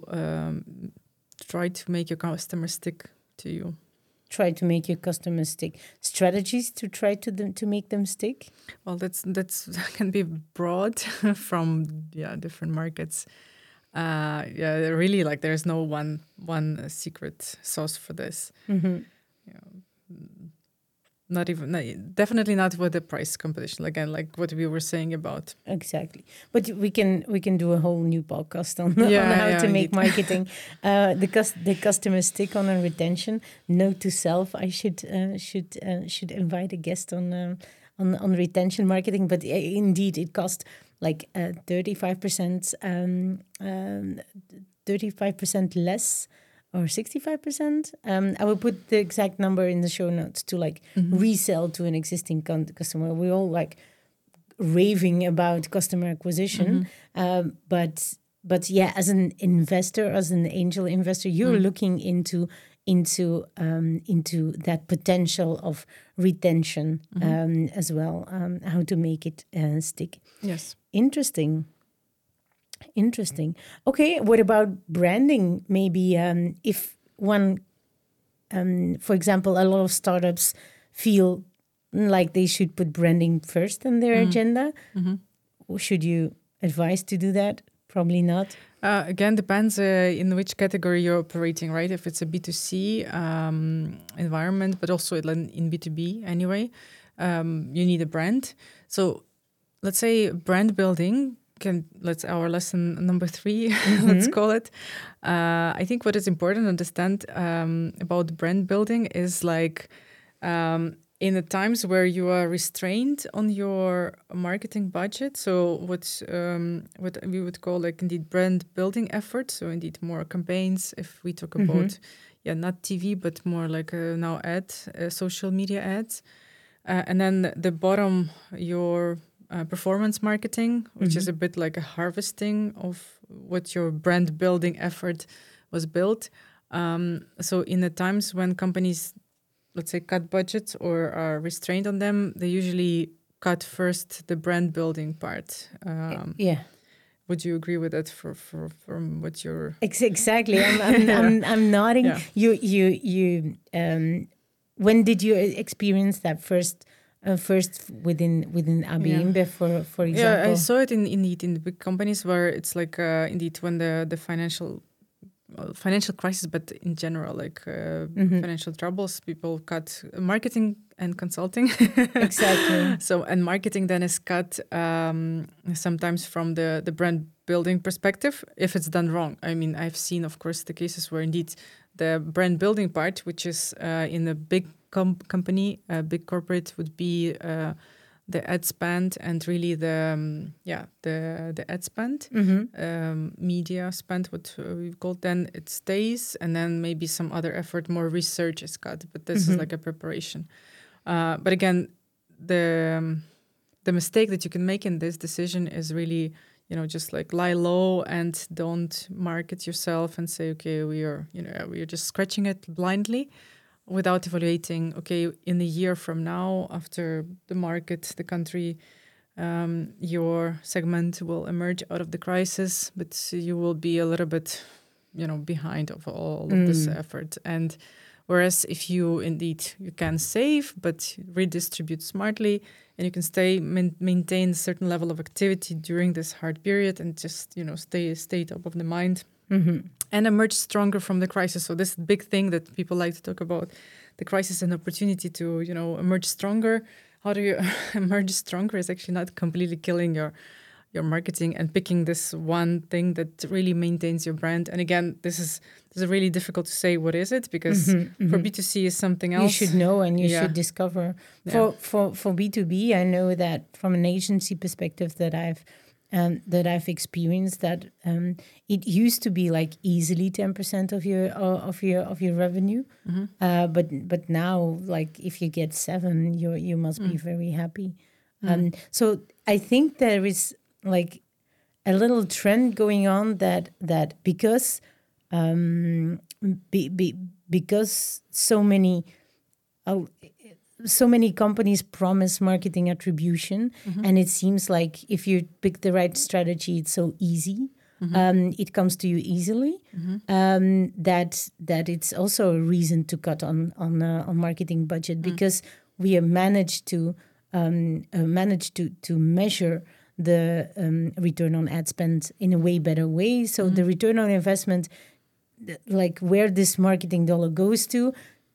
S2: to make your customers stick to you.
S1: Try to make your customers stick. Strategies to try to make them stick?
S2: Well, that's can be broad from different markets. Really, like there's no one secret sauce for this. Definitely not with the price competition. Again, like what we were saying about.
S1: Exactly, but we can do a whole new podcast on how to make marketing the customer stick on a retention. Note to self: I should invite a guest on retention marketing. But indeed, it costs like 35% less. Or 65%. I will put the exact number in the show notes to like resell to an existing customer. We're all like raving about customer acquisition, but yeah, as an investor, as an angel investor, you're looking into that potential of retention as well. How to make it stick?
S2: Yes,
S1: Interesting. Okay, what about branding? Maybe if one, for example, a lot of startups feel like they should put branding first in their agenda. Should you advise to do that? Probably not.
S2: Again, depends in which category you're operating, right? If it's a B2C environment, but also in B2B anyway, you need a brand. So let's say brand building. Our lesson number 3, let's call it. I think what is important to understand about brand building is like in the times where you are restrained on your marketing budget. So what we would call like indeed brand building efforts. So indeed more campaigns. If we talk about not TV, but more like now social media ads, and then the bottom your performance marketing, which is a bit like a harvesting of what your brand building effort was built. So in the times when companies, let's say, cut budgets or are restrained on them, they usually cut first the brand building part. Would you agree with that from what you're...
S1: Exactly. I'm nodding.
S2: Yeah.
S1: You when did you experience that first within AB InBev, for example?
S2: Yeah, I saw it in the big companies where it's like indeed when the financial crisis, but in general, like financial troubles, people cut marketing and consulting.
S1: Exactly.
S2: So, and marketing then is cut sometimes from the brand building perspective if it's done wrong. I mean, I've seen, of course, the cases where indeed the brand building part, which is in a big company, a big corporate, would be the ad spend and really the ad spend, media spend, what we've called, then it stays, and then maybe some other effort, more research is cut. But this is like a preparation. But again, the mistake that you can make in this decision is really, just like lie low and don't market yourself and say, okay, we are just scratching it blindly without evaluating, okay, in a year from now, after the market, the country, your segment will emerge out of the crisis, but you will be a little bit, behind of all of this effort. And whereas if you can save, but redistribute smartly, and you can maintain a certain level of activity during this hard period and just, stay top of the mind. And emerge stronger from the crisis. So this big thing that people like to talk about, the crisis and opportunity to, emerge stronger. How do you emerge stronger is actually not completely killing your marketing and picking this one thing that really maintains your brand. And again, this is really difficult to say what is it, because for B2C is something else.
S1: You should know and you should discover. For B2B, I know that from an agency perspective that I've experienced that it used to be like easily 10% of your revenue, but now, like, if you get 7, you must be very happy. So I think there is like a little trend going on that because because so many companies promise marketing attribution, and it seems like if you pick the right strategy, it's so easy. It comes to you easily. That it's also a reason to cut on marketing budget, because we have managed to measure the return on ad spend in a way better way. So the return on investment, like where this marketing dollar goes to.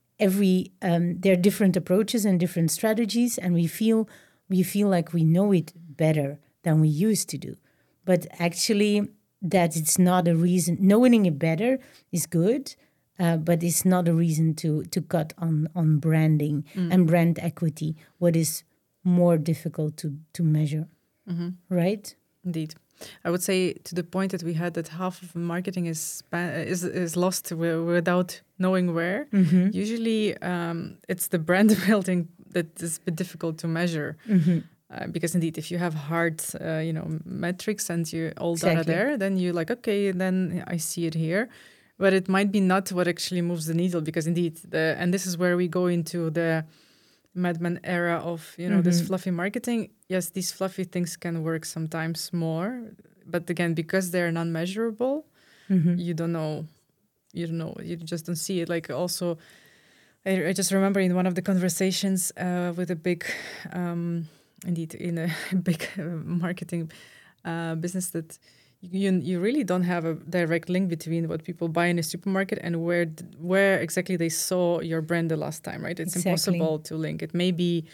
S1: There are different approaches and different strategies, and we feel like we know it better than we used to do. But actually, that it's not a reason. Knowing it better is good, but it's not a reason to cut on branding and brand equity, what is more difficult to measure, right?
S2: Indeed. I would say, to the point that we had, that half of marketing is lost without knowing where. Usually, it's the brand building that is a bit difficult to measure, because indeed, if you have hard, metrics and all data there, then you're like, okay, then I see it here, but it might be not what actually moves the needle, because indeed, and this is where we go into the Mad Men era of this fluffy marketing. Yes, these fluffy things can work sometimes more, but again, because they're non-measurable, you don't know, you just don't see it. Like, also, I just remember in one of the conversations with a big, indeed, in a big marketing business, that you really don't have a direct link between what people buy in a supermarket and where exactly they saw your brand the last time, right? It's impossible to link. It may be,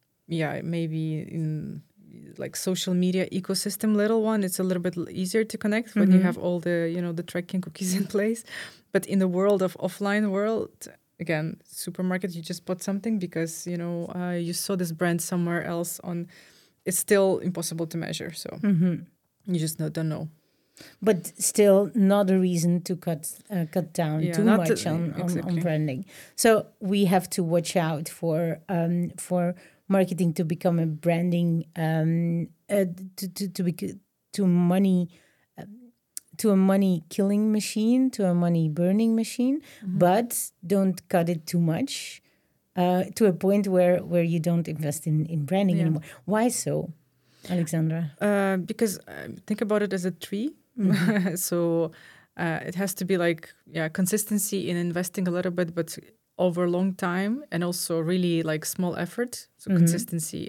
S2: maybe in like social media ecosystem, little one, it's a little bit easier to connect when you have all the, the tracking cookies in place. But in the world of offline world, again, supermarket, you just bought something because, you saw this brand somewhere else on, it's still impossible to measure. So you just don't know.
S1: But still not a reason to cut down too much on branding. So we have to watch out for marketing to become a branding to a money killing machine, to a money burning machine, but don't cut it too much to a point where you don't invest in branding anymore. Why so, Alexandra?
S2: Because think about it as a tree. So it has to be like, consistency in investing a little bit, but over a long time, and also really like small effort. So consistency.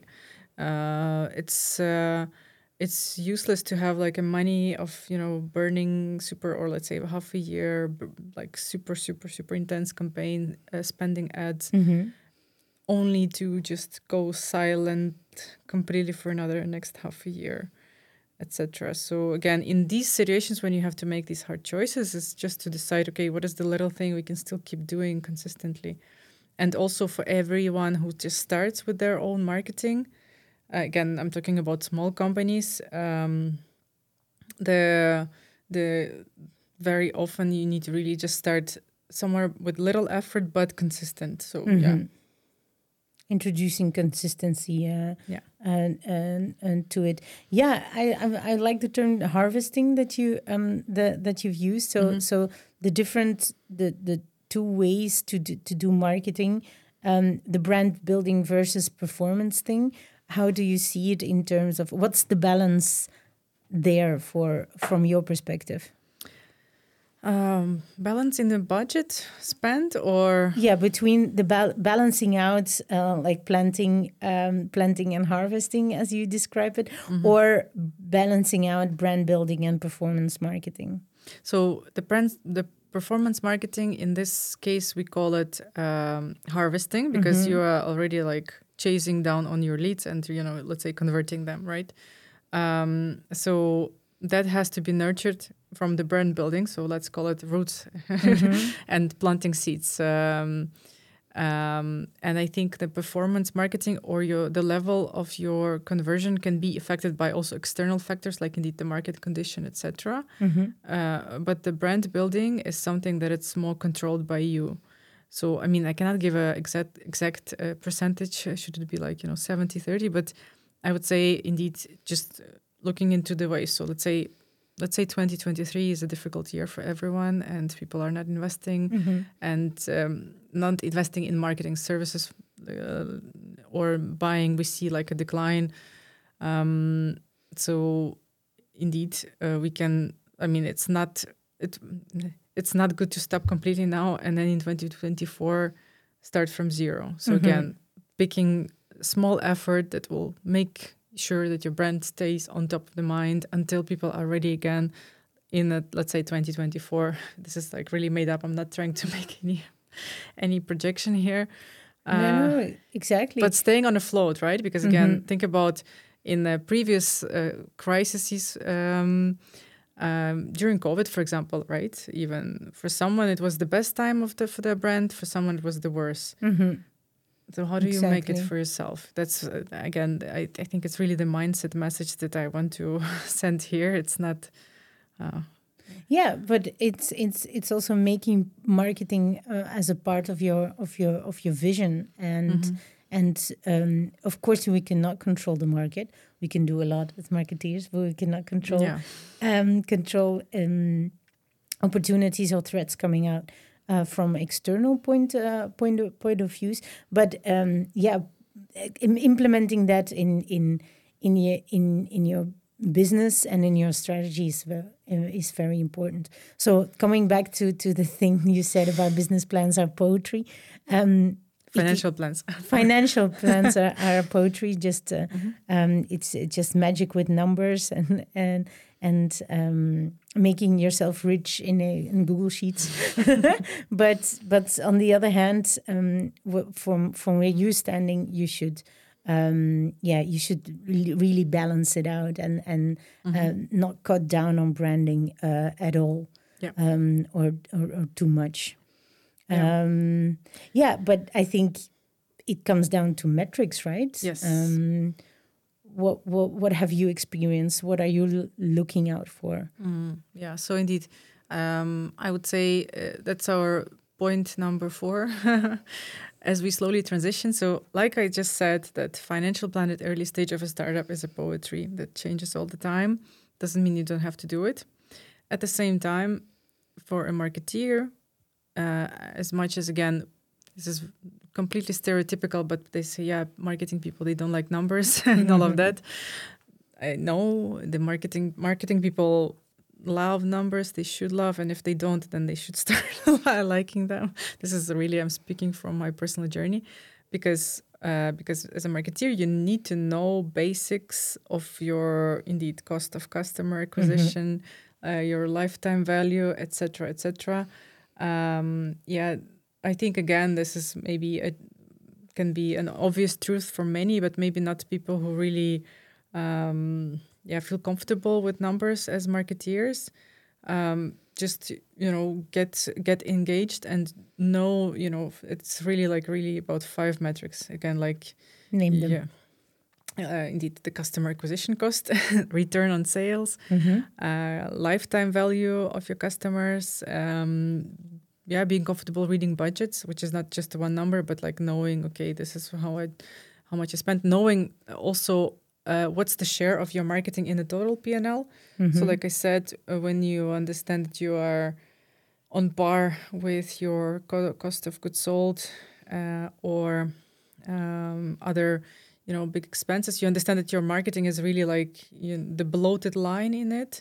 S2: It's useless to have like a money of, burning super, or let's say half a year, like super intense campaign, spending ads. only to just go silent completely for another next half a year, etc. So again, in these situations when you have to make these hard choices, it's just to decide, okay, what is the little thing we can still keep doing consistently? And also for everyone who just starts with their own marketing, again, I'm talking about small companies. The very often you need to really just start somewhere with little effort but consistent. So yeah,
S1: introducing consistency
S2: yeah,
S1: and to it. Yeah, I like the term harvesting that you've used. So so the different the two ways to do marketing, the brand building versus performance thing. How do you see it in terms of what's the balance there from your perspective?
S2: Balance in the budget spent, or
S1: yeah, between the balancing out like planting and harvesting as you describe it, or balancing out brand building and performance marketing.
S2: So the performance marketing, in this case we call it harvesting, because you are already like chasing down on your leads and, you know, let's say converting them, right? So that has to be nurtured from the brand building. So let's call it roots and planting seeds. And I think the performance marketing or the level of your conversion can be affected by also external factors, like indeed the market condition, etc. But the brand building is something that it's more controlled by you. So, I mean, I cannot give a exact percentage. Should it be like, 70-30? But I would say indeed just looking into the ways. So let's say 2023 is a difficult year for everyone, and people are not investing and not investing in marketing services or buying. We see like a decline. So indeed, we can. I mean, it's not good to stop completely now and then in 2024 start from zero. So again, picking small effort that will make sure that your brand stays on top of the mind until people are ready again in let's say 2024. This is like really made up. I'm not trying to make any projection here.
S1: No, exactly.
S2: But staying on afloat, right? Because again, think about in the previous crises during COVID, for example, right? Even for someone, it was the best time for their brand. For someone, it was the worst. So how do you make it for yourself? That's again, I think it's really the mindset message that I want to send here. It's not.
S1: Yeah, but it's also making marketing as a part of your vision, and of course we cannot control the market. We can do a lot as marketeers, but we cannot control opportunities or threats coming out from external point of views. But implementing that in your business and in your strategies is very important. So coming back to the thing you said about business plans are poetry.
S2: Financial plans.
S1: Financial plans are poetry. Just it's just magic with numbers and making yourself rich in Google Sheets. but on the other hand, from where you're standing, you should. You should really balance it out and not cut down on branding at all, or too much. But I think it comes down to metrics, right?
S2: Yes.
S1: What have you experienced? What are you looking out for?
S2: So indeed, I would say that's our point number 4 as we slowly transition. So like I just said, that financial plan at early stage of a startup is a poetry that changes all the time. Doesn't mean you don't have to do it. At the same time, for a marketeer, as much as, again, this is completely stereotypical, but they say, marketing people, they don't like numbers and all of that. I know the marketing people love numbers. They should love, and if they don't, then they should start liking them. This is really, I'm speaking from my personal journey, because as a marketeer, you need to know basics of your indeed cost of customer acquisition, your lifetime value, etc., etc. I think again, this is maybe a can be an obvious truth for many, but maybe not people who really feel comfortable with numbers as marketeers. Just get engaged and know, it's really about 5 metrics again, like
S1: name them.
S2: Indeed, the customer acquisition cost, return on sales, lifetime value of your customers, being comfortable reading budgets, which is not just one number, but like knowing, okay, this is how much I spent, knowing also what's the share of your marketing in the total P&L. So like I said, when you understand that you are on par with your cost of goods sold or other big expenses, you understand that your marketing is really like the bloated line in it.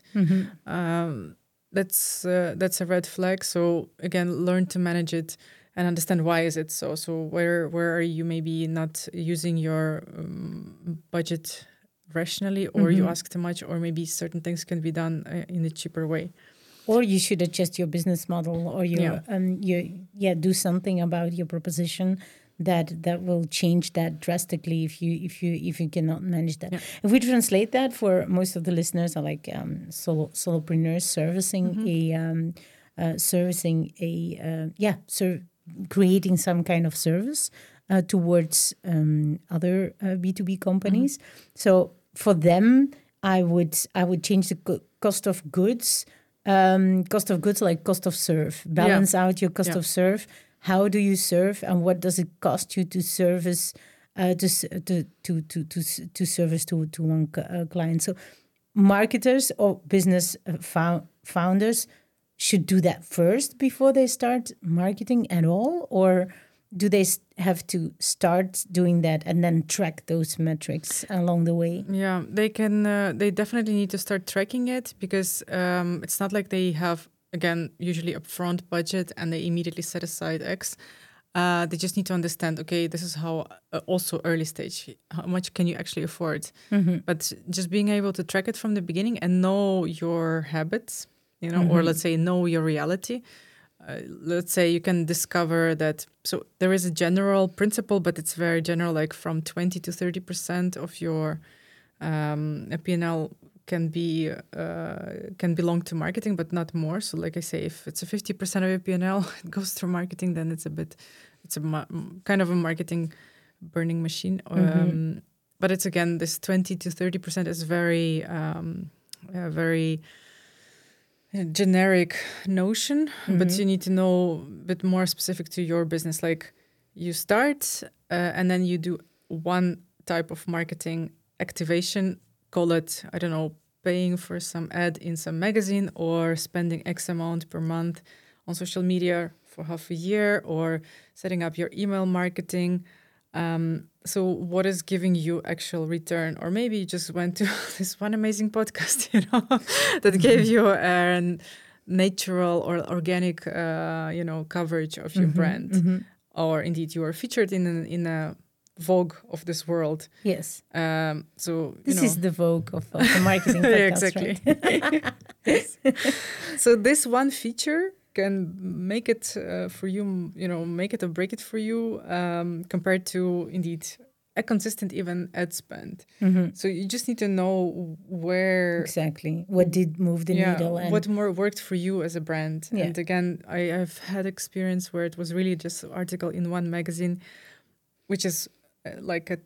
S2: That's a red flag. So again, learn to manage it and understand why is it so. So where are you maybe not using your budget rationally, or you ask too much, or maybe certain things can be done in a cheaper way.
S1: Or you should adjust your business model, or do something about your proposition that will change that drastically if you cannot manage that. If we translate that for most of the listeners are like solopreneurs creating some kind of service towards other B2B companies. So for them, I would change the cost of goods. Like cost of serve. Balance out your cost of serve. How do you serve, and what does it cost you to service to service to one client? So marketers or business founders should do that first before they start marketing at all, or do they have to start doing that and then track those metrics along the way?
S2: Yeah, they can. They definitely need to start tracking it, because it's not like they have, again, usually upfront budget and they immediately set aside X. They just need to understand, okay, this is how, also early stage, how much can you actually afford? But just being able to track it from the beginning and know your habits, or let's say know your reality. Let's say you can discover that, so there is a general principle, but it's very general, like from 20 to 30% of your P&L can belong to marketing, but not more. So like I say, if it's a 50% of your P&L, it goes through marketing, then it's kind of a marketing burning machine. But it's, again, this 20 to 30% is very generic notion, but you need to know a bit more specific to your business. Like you start and then you do one type of marketing activation, call it, I don't know, paying for some ad in some magazine, or spending X amount per month on social media for half a year, or setting up your email marketing. So what is giving you actual return? Or maybe you just went to this one amazing podcast, that gave you a natural or organic, coverage of your brand. Or indeed, you are featured in a Vogue of this world.
S1: Yes.
S2: So
S1: this is the Vogue of the marketing podcast,
S2: exactly.
S1: Right?
S2: Yes. So this one feature can make it for you, make it or break it for you, compared to, indeed, a consistent even ad spend. So you just need to know where...
S1: Exactly. What did move the needle. And
S2: what more worked for you as a brand. Yeah. And again, I've had experience where it was really just an article in one magazine, which is like a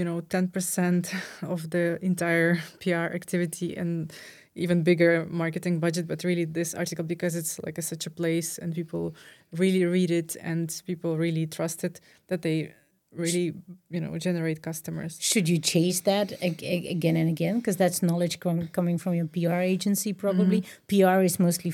S2: 10% of the entire PR activity and even bigger marketing budget, but really this article, because it's like such a place and people really read it and people really trust it, that they really, generate customers.
S1: Should you chase that again and again? Because that's knowledge coming from your PR agency, probably. PR is mostly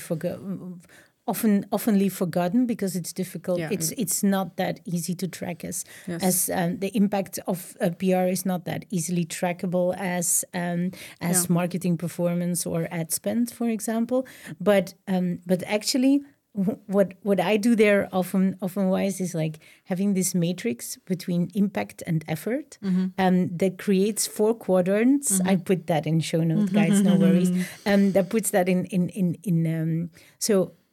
S1: oftenly forgotten because it's difficult. Yeah. It's not that easy to track as the impact of PR is not that easily trackable as marketing performance or ad spend, for example. But actually, what I do there often wise is like having this matrix between impact and effort that creates 4 quadrants. I put that in show notes, guys, no worries. That puts that in so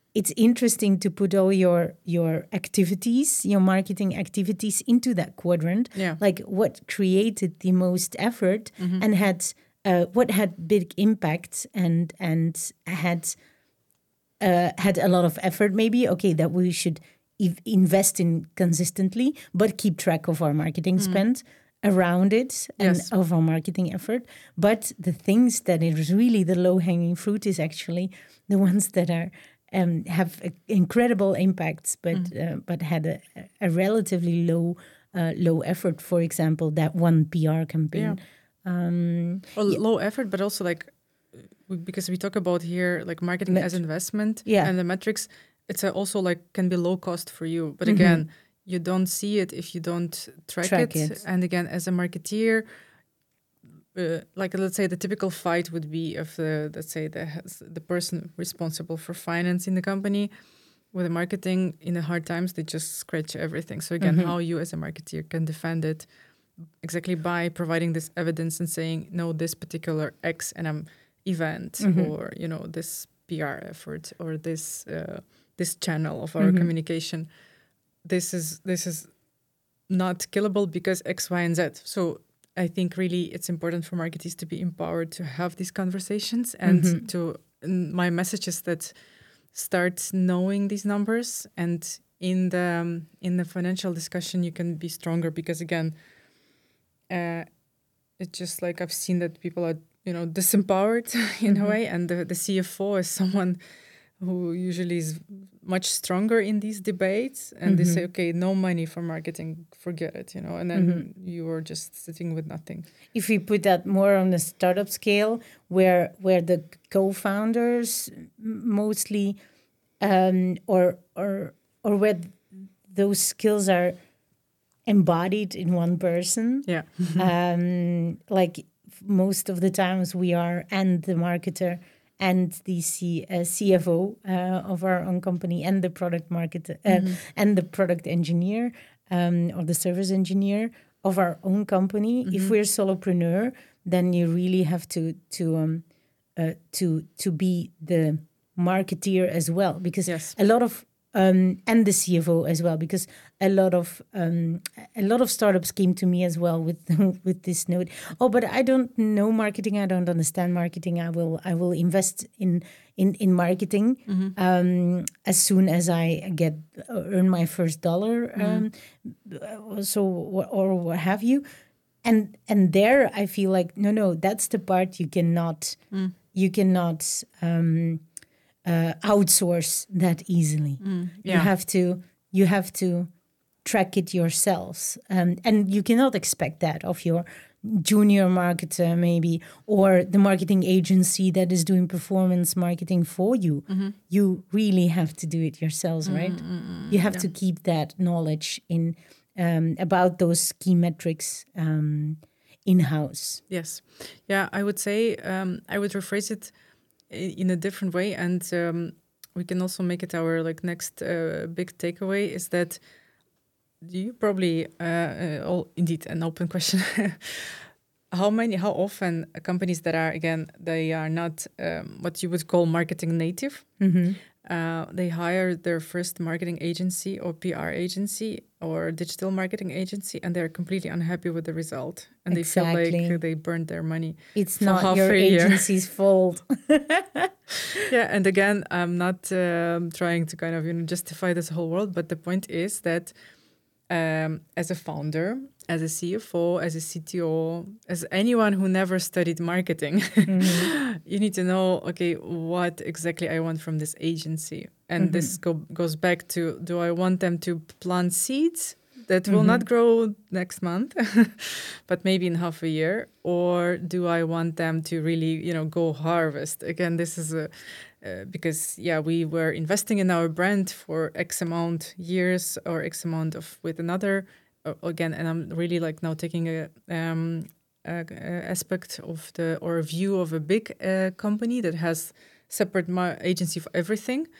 S1: it's interesting to put all your activities, your marketing activities into that quadrant.
S2: Yeah.
S1: Like what created the most effort and had what had big impact and had a lot of effort maybe. Okay, that we should invest in consistently, but keep track of our marketing spend around it and
S2: Yes.
S1: of our marketing effort. But the things that is really the low-hanging fruit is actually the ones that are have incredible impacts, but had a relatively low effort. For example, that one PR campaign.
S2: Low effort, but also like because we talk about here like marketing as investment and the metrics, it's also like can be low cost for you. But again, you don't see it if you don't track it. And again, as a marketeer, like let's say the typical fight would be of the person responsible for finance in the company with the marketing in the hard times, they just scratch everything. So again, how you as a marketeer can defend it exactly by providing this evidence and saying, no, this particular X event or, you know, this PR effort or this channel of our communication, this is not killable because X, Y, and Z. So I think really it's important for marketers to be empowered to have these conversations and my message is that start knowing these numbers, and in the financial discussion you can be stronger because again, it's just like I've seen that people are, you know, disempowered in a way, and the CFO is someone who usually is much stronger in these debates, and they say, okay, no money for marketing, forget it, you know, and then you are just sitting with nothing.
S1: If we put that more on the startup scale, where the co-founders mostly, or where those skills are embodied in one person, like most of the times we are, and the marketer and the CFO of our own company, and the product marketer and the product engineer or the service engineer of our own company. If we're solopreneur, then you really have to be the marketeer as well, because a lot of and the CFO as well, because a lot of startups came to me as well with this note. Oh, but I don't know marketing. I don't understand marketing. I will invest in marketing as soon as I earn my first dollar. So or what have you, and there I feel like no, that's the part you cannot outsource that easily. You have to track it yourselves, and you cannot expect that of your junior marketer maybe, or the marketing agency that is doing performance marketing for you. You really have to do it yourselves, right? You have to keep that knowledge in about those key metrics in-house.
S2: Yes. Yeah, I would say I would rephrase it in a different way, and we can also make it our like next big takeaway is that you probably indeed an open question. How often companies that are, again, they are not what you would call marketing native, they hire their first marketing agency or PR agency or digital marketing agency, and they're completely unhappy with the result, and they feel like they burned their money.
S1: It's not your agency's fault.
S2: Yeah, and again, I'm not trying to kind of justify this whole world, but the point is that as a founder, as a CFO, as a CTO, as anyone who never studied marketing, you need to know, okay, what exactly I want from this agency. And this goes back to, do I want them to plant seeds that will not grow next month, but maybe in half a year? Or do I want them to really, go harvest? Again, this is because, we were investing in our brand for X amount years or X amount with another, again, and I'm really like now taking a aspect of or a view of a big company that has separate agency for everything.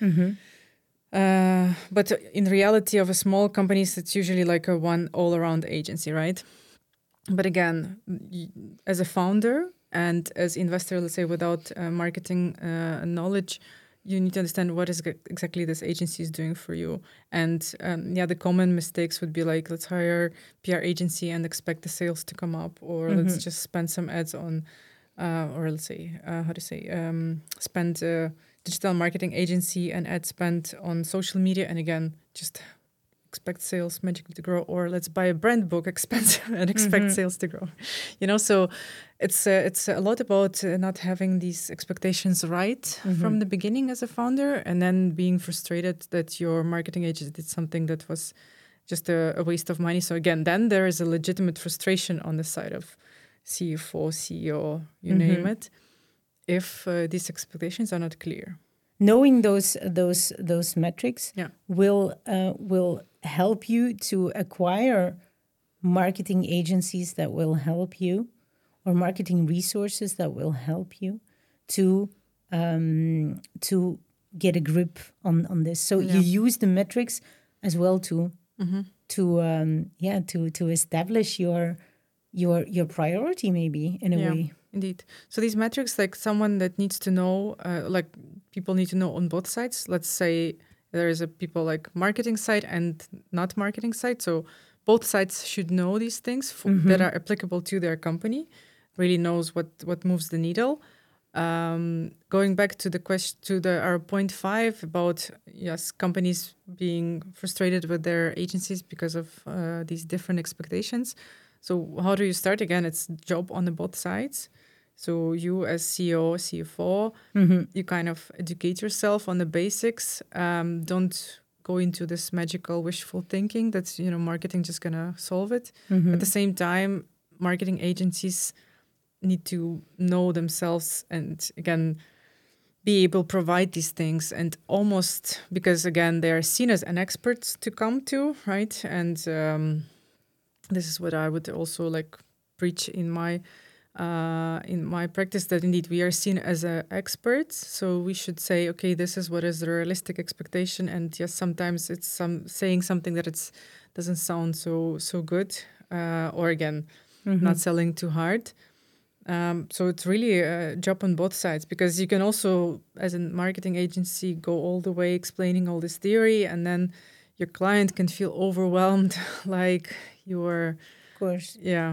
S2: But in reality of a small companies, it's usually like a one all-around agency, right? But again, as a founder and as investor, let's say without marketing knowledge, you need to understand what is exactly this agency is doing for you. And the common mistakes would be like, let's hire PR agency and expect the sales to come up, or let's just spend some ads on, or let's say, spend a digital marketing agency and ad spend on social media, and again, just expect sales magically to grow, or let's buy a brand book expensive and expect sales to grow. So it's a lot about not having these expectations right from the beginning as a founder, and then being frustrated that your marketing agency did something that was just a waste of money. So again, then there is a legitimate frustration on the side of CFO, CEO, you name it, if these expectations are not clear.
S1: Knowing those metrics will help you to acquire marketing agencies that will help you, or marketing resources that will help you to get a grip on this. So you use the metrics as well to establish your priority, maybe, in a way.
S2: Indeed. So these metrics, like someone that needs to know, like people need to know on both sides. Let's say there is a people like marketing side and not marketing side. So both sides should know these things that are applicable to their company, really knows what moves the needle. Going back to the question, our point 5 about, companies being frustrated with their agencies because of these different expectations. So how do you start? Again, it's job on the both sides. So you as CEO, CFO, you kind of educate yourself on the basics. Don't go into this magical wishful thinking that, marketing just going to solve it. At the same time, marketing agencies need to know themselves and, again, be able to provide these things, and almost because, again, they are seen as an expert to come to, right? And this is what I would also preach in my practice, that indeed we are seen as experts. So we should say, okay, this is what is the realistic expectation. And yes, sometimes it's saying something that doesn't sound so good, or again, not selling too hard. So it's really a job on both sides, because you can also, as a marketing agency, go all the way explaining all this theory, and then your client can feel overwhelmed, like you were,
S1: of course,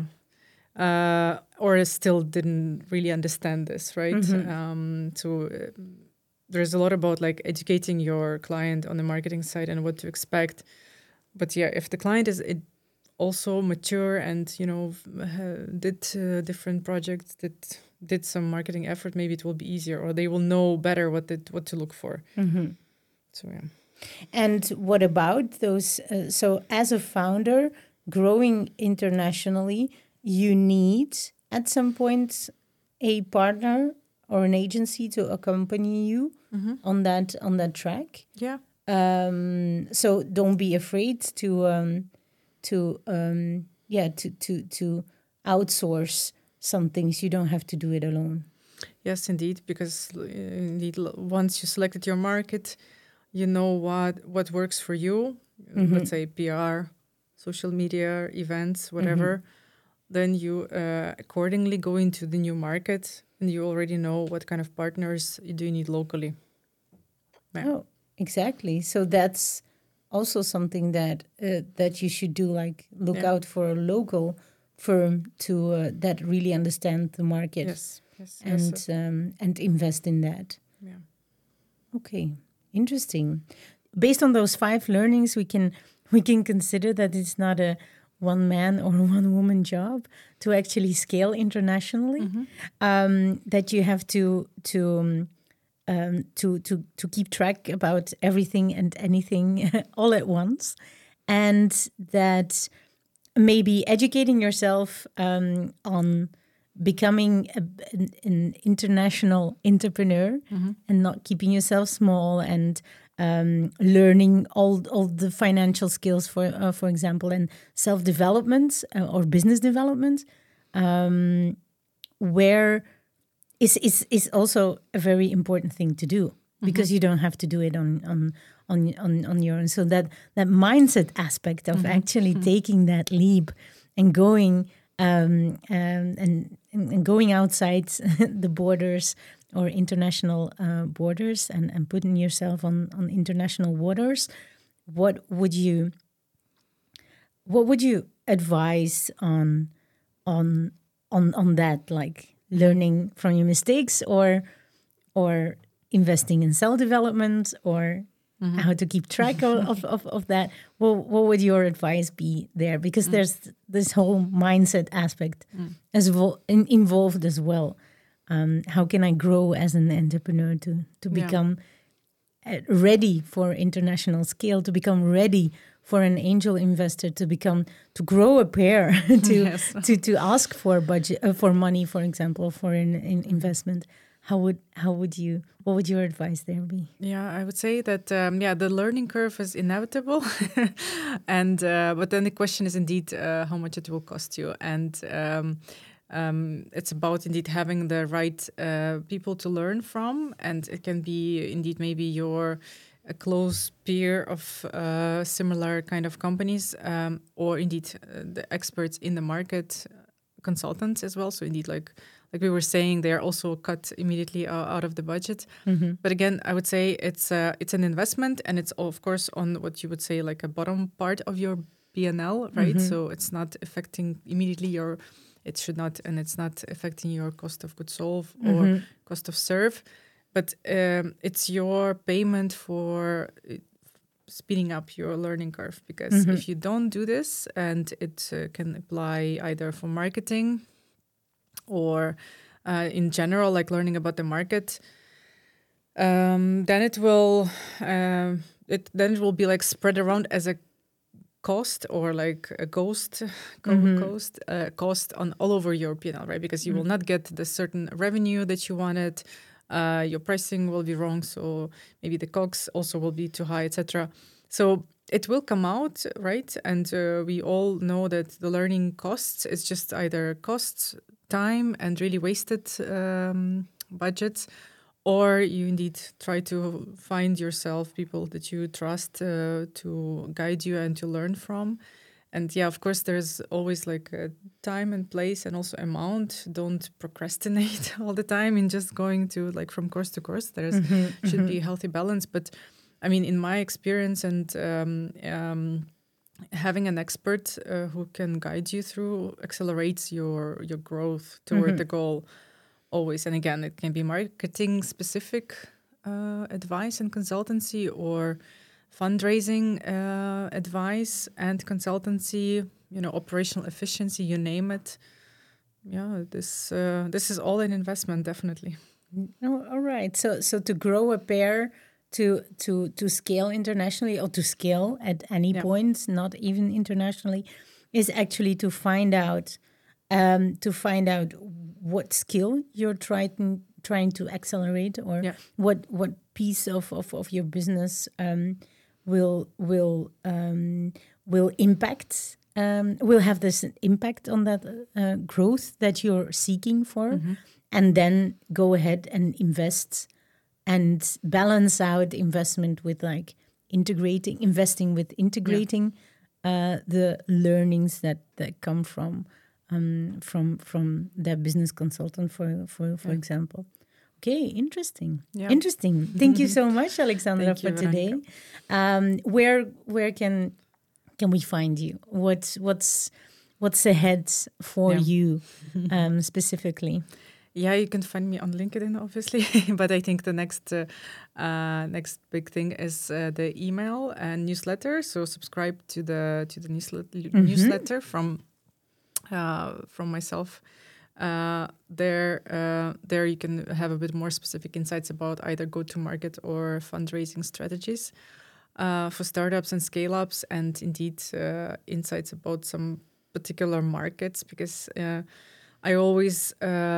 S2: or still didn't really understand this, right? So there's a lot about educating your client on the marketing side and what to expect. But if the client is also mature and did different projects, did some marketing effort, maybe it will be easier, or they will know better what to look for. So
S1: And what about those? So as a founder growing internationally, you need at some point a partner or an agency to accompany you on that track.
S2: Yeah.
S1: So don't be afraid to outsource some things. You don't have to do it alone.
S2: Yes, indeed, because indeed, once you selected your market, you know what works for you. Let's say PR, social media, events, whatever. Then you accordingly go into the new market, and you already know what kind of partners do you need locally.
S1: Yeah. Oh, exactly. So that's also something that you should do. Look out for a local firm to that really understand the market.
S2: Yes.
S1: And invest in that.
S2: Yeah.
S1: Okay, interesting. Based on those 5 learnings, we can consider that it's not a one man or one woman job to actually scale internationally. That you have to keep track about everything and anything all at once, and that maybe educating yourself on becoming an international entrepreneur and not keeping yourself small, and learning all the financial skills, for example, and self-development or business development, where is also a very important thing to do, because you don't have to do it on your own. So that mindset aspect of actually taking that leap and going and going outside the borders or international borders and putting yourself on international waters, what would you advise on that, like learning from your mistakes, or investing in self-development, or how to keep track of that? What would your advice be there? Because there's this whole mindset aspect as well involved as well. How can I grow as an entrepreneur to become ready for international scale, to become ready for an angel investor, to grow a pair, to ask for budget for money, for example, for an investment? What would your advice there be?
S2: Yeah, I would say that the learning curve is inevitable, and but then the question is indeed how much it will cost you, and it's about indeed having the right people to learn from, and it can be indeed maybe a close peer of similar kind of companies, or indeed the experts in the market, consultants as well. So indeed, like we were saying, they are also cut immediately out of the budget. But again, I would say it's an investment, and it's of course on what you would say like a bottom part of your P&L, right? So it's not affecting immediately it's not affecting your cost of goods sold or cost of serve, but it's your payment for speeding up your learning curve. Because if you don't do this, and it can apply either for marketing or in general, like learning about the market, then it will be like spread around as a cost, or like a cost on all over your P&L, right? Because you will not get the certain revenue that you wanted. Your pricing will be wrong, so maybe the COGS also will be too high, etc. So it will come out, right? And we all know that the learning costs is just either costs, time, and really wasted budgets, or you indeed try to find yourself people that you trust to guide you and to learn from. And yeah, of course, there's always like a time and place, and also amount. Don't procrastinate all the time in just going to like from course to course. There's should be a healthy balance. But I mean, in my experience, and having an expert who can guide you through accelerates your growth toward the goal always. And again, it can be marketing specific advice and consultancy, or fundraising advice and consultancy, operational efficiency, you name it. Yeah, this is all an investment, definitely.
S1: Oh, all right. So to grow a pair, to scale internationally, or to scale at any point, not even internationally, is actually to find out what skill you're trying to accelerate, or what piece of your business will impact, will have this impact on that growth that you're seeking for, and then go ahead and invest and balance out investment with like investing with integrating the learnings that come from that business consultant, for example. Okay, interesting. Yeah. Interesting. Thank you so much, Alexandra, for today. Where can we find you? What's ahead for you specifically?
S2: Yeah, you can find me on LinkedIn, obviously. But I think the next big thing is the email and newsletter. So subscribe to the newsletter from myself. There you can have a bit more specific insights about either go-to-market or fundraising strategies for startups and scale-ups, and indeed insights about some particular markets, because I always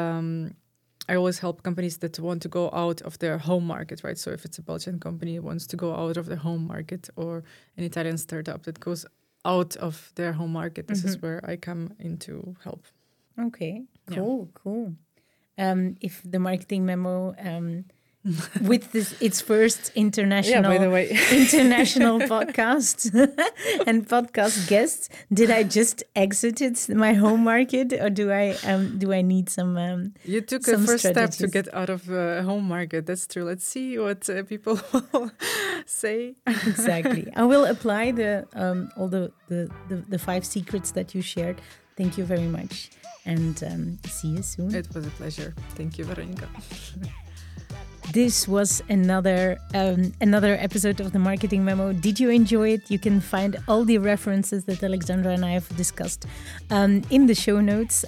S2: help companies that want to go out of their home market, right? So if it's a Belgian company that wants to go out of their home market, or an Italian startup that goes out of their home market, this is where I come in to help.
S1: Okay, cool. If the marketing memo with its first international,
S2: by the way.
S1: international podcast and podcast guests. Did I just exited my home market, or do I need some?
S2: You took
S1: some
S2: a first
S1: strategies?
S2: step to get out of home market. That's true. Let's see what people will say.
S1: Exactly. I will apply all the 5 secrets that you shared. Thank you very much, and see you soon.
S2: It was a pleasure. Thank you, Veronica.
S1: This was another episode of the Marketing Memo. Did you enjoy it? You can find all the references that Alexandra and I have discussed in the show notes.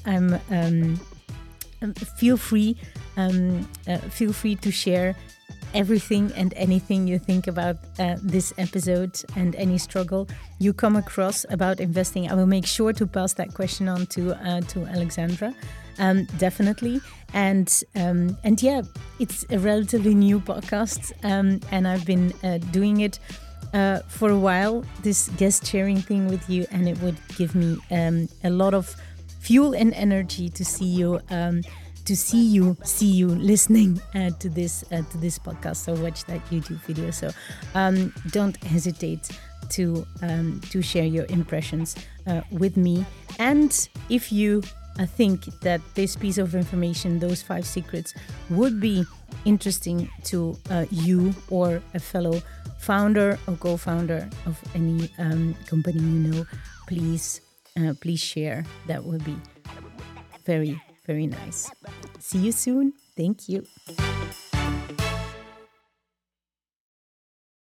S1: Feel free to share everything and anything you think about this episode and any struggle you come across about investing. I will make sure to pass that question on to Alexandra, definitely. And yeah, it's a relatively new podcast, and I've been doing it for a while, this guest sharing thing with you, and it would give me a lot of fuel and energy to see you listening to this podcast. So watch that YouTube video. So don't hesitate to share your impressions with me. And if you think that this piece of information, those 5 secrets, would be interesting to you or a fellow founder or co-founder of any company you know, please share. That would be very, very nice. See you soon. Thank you.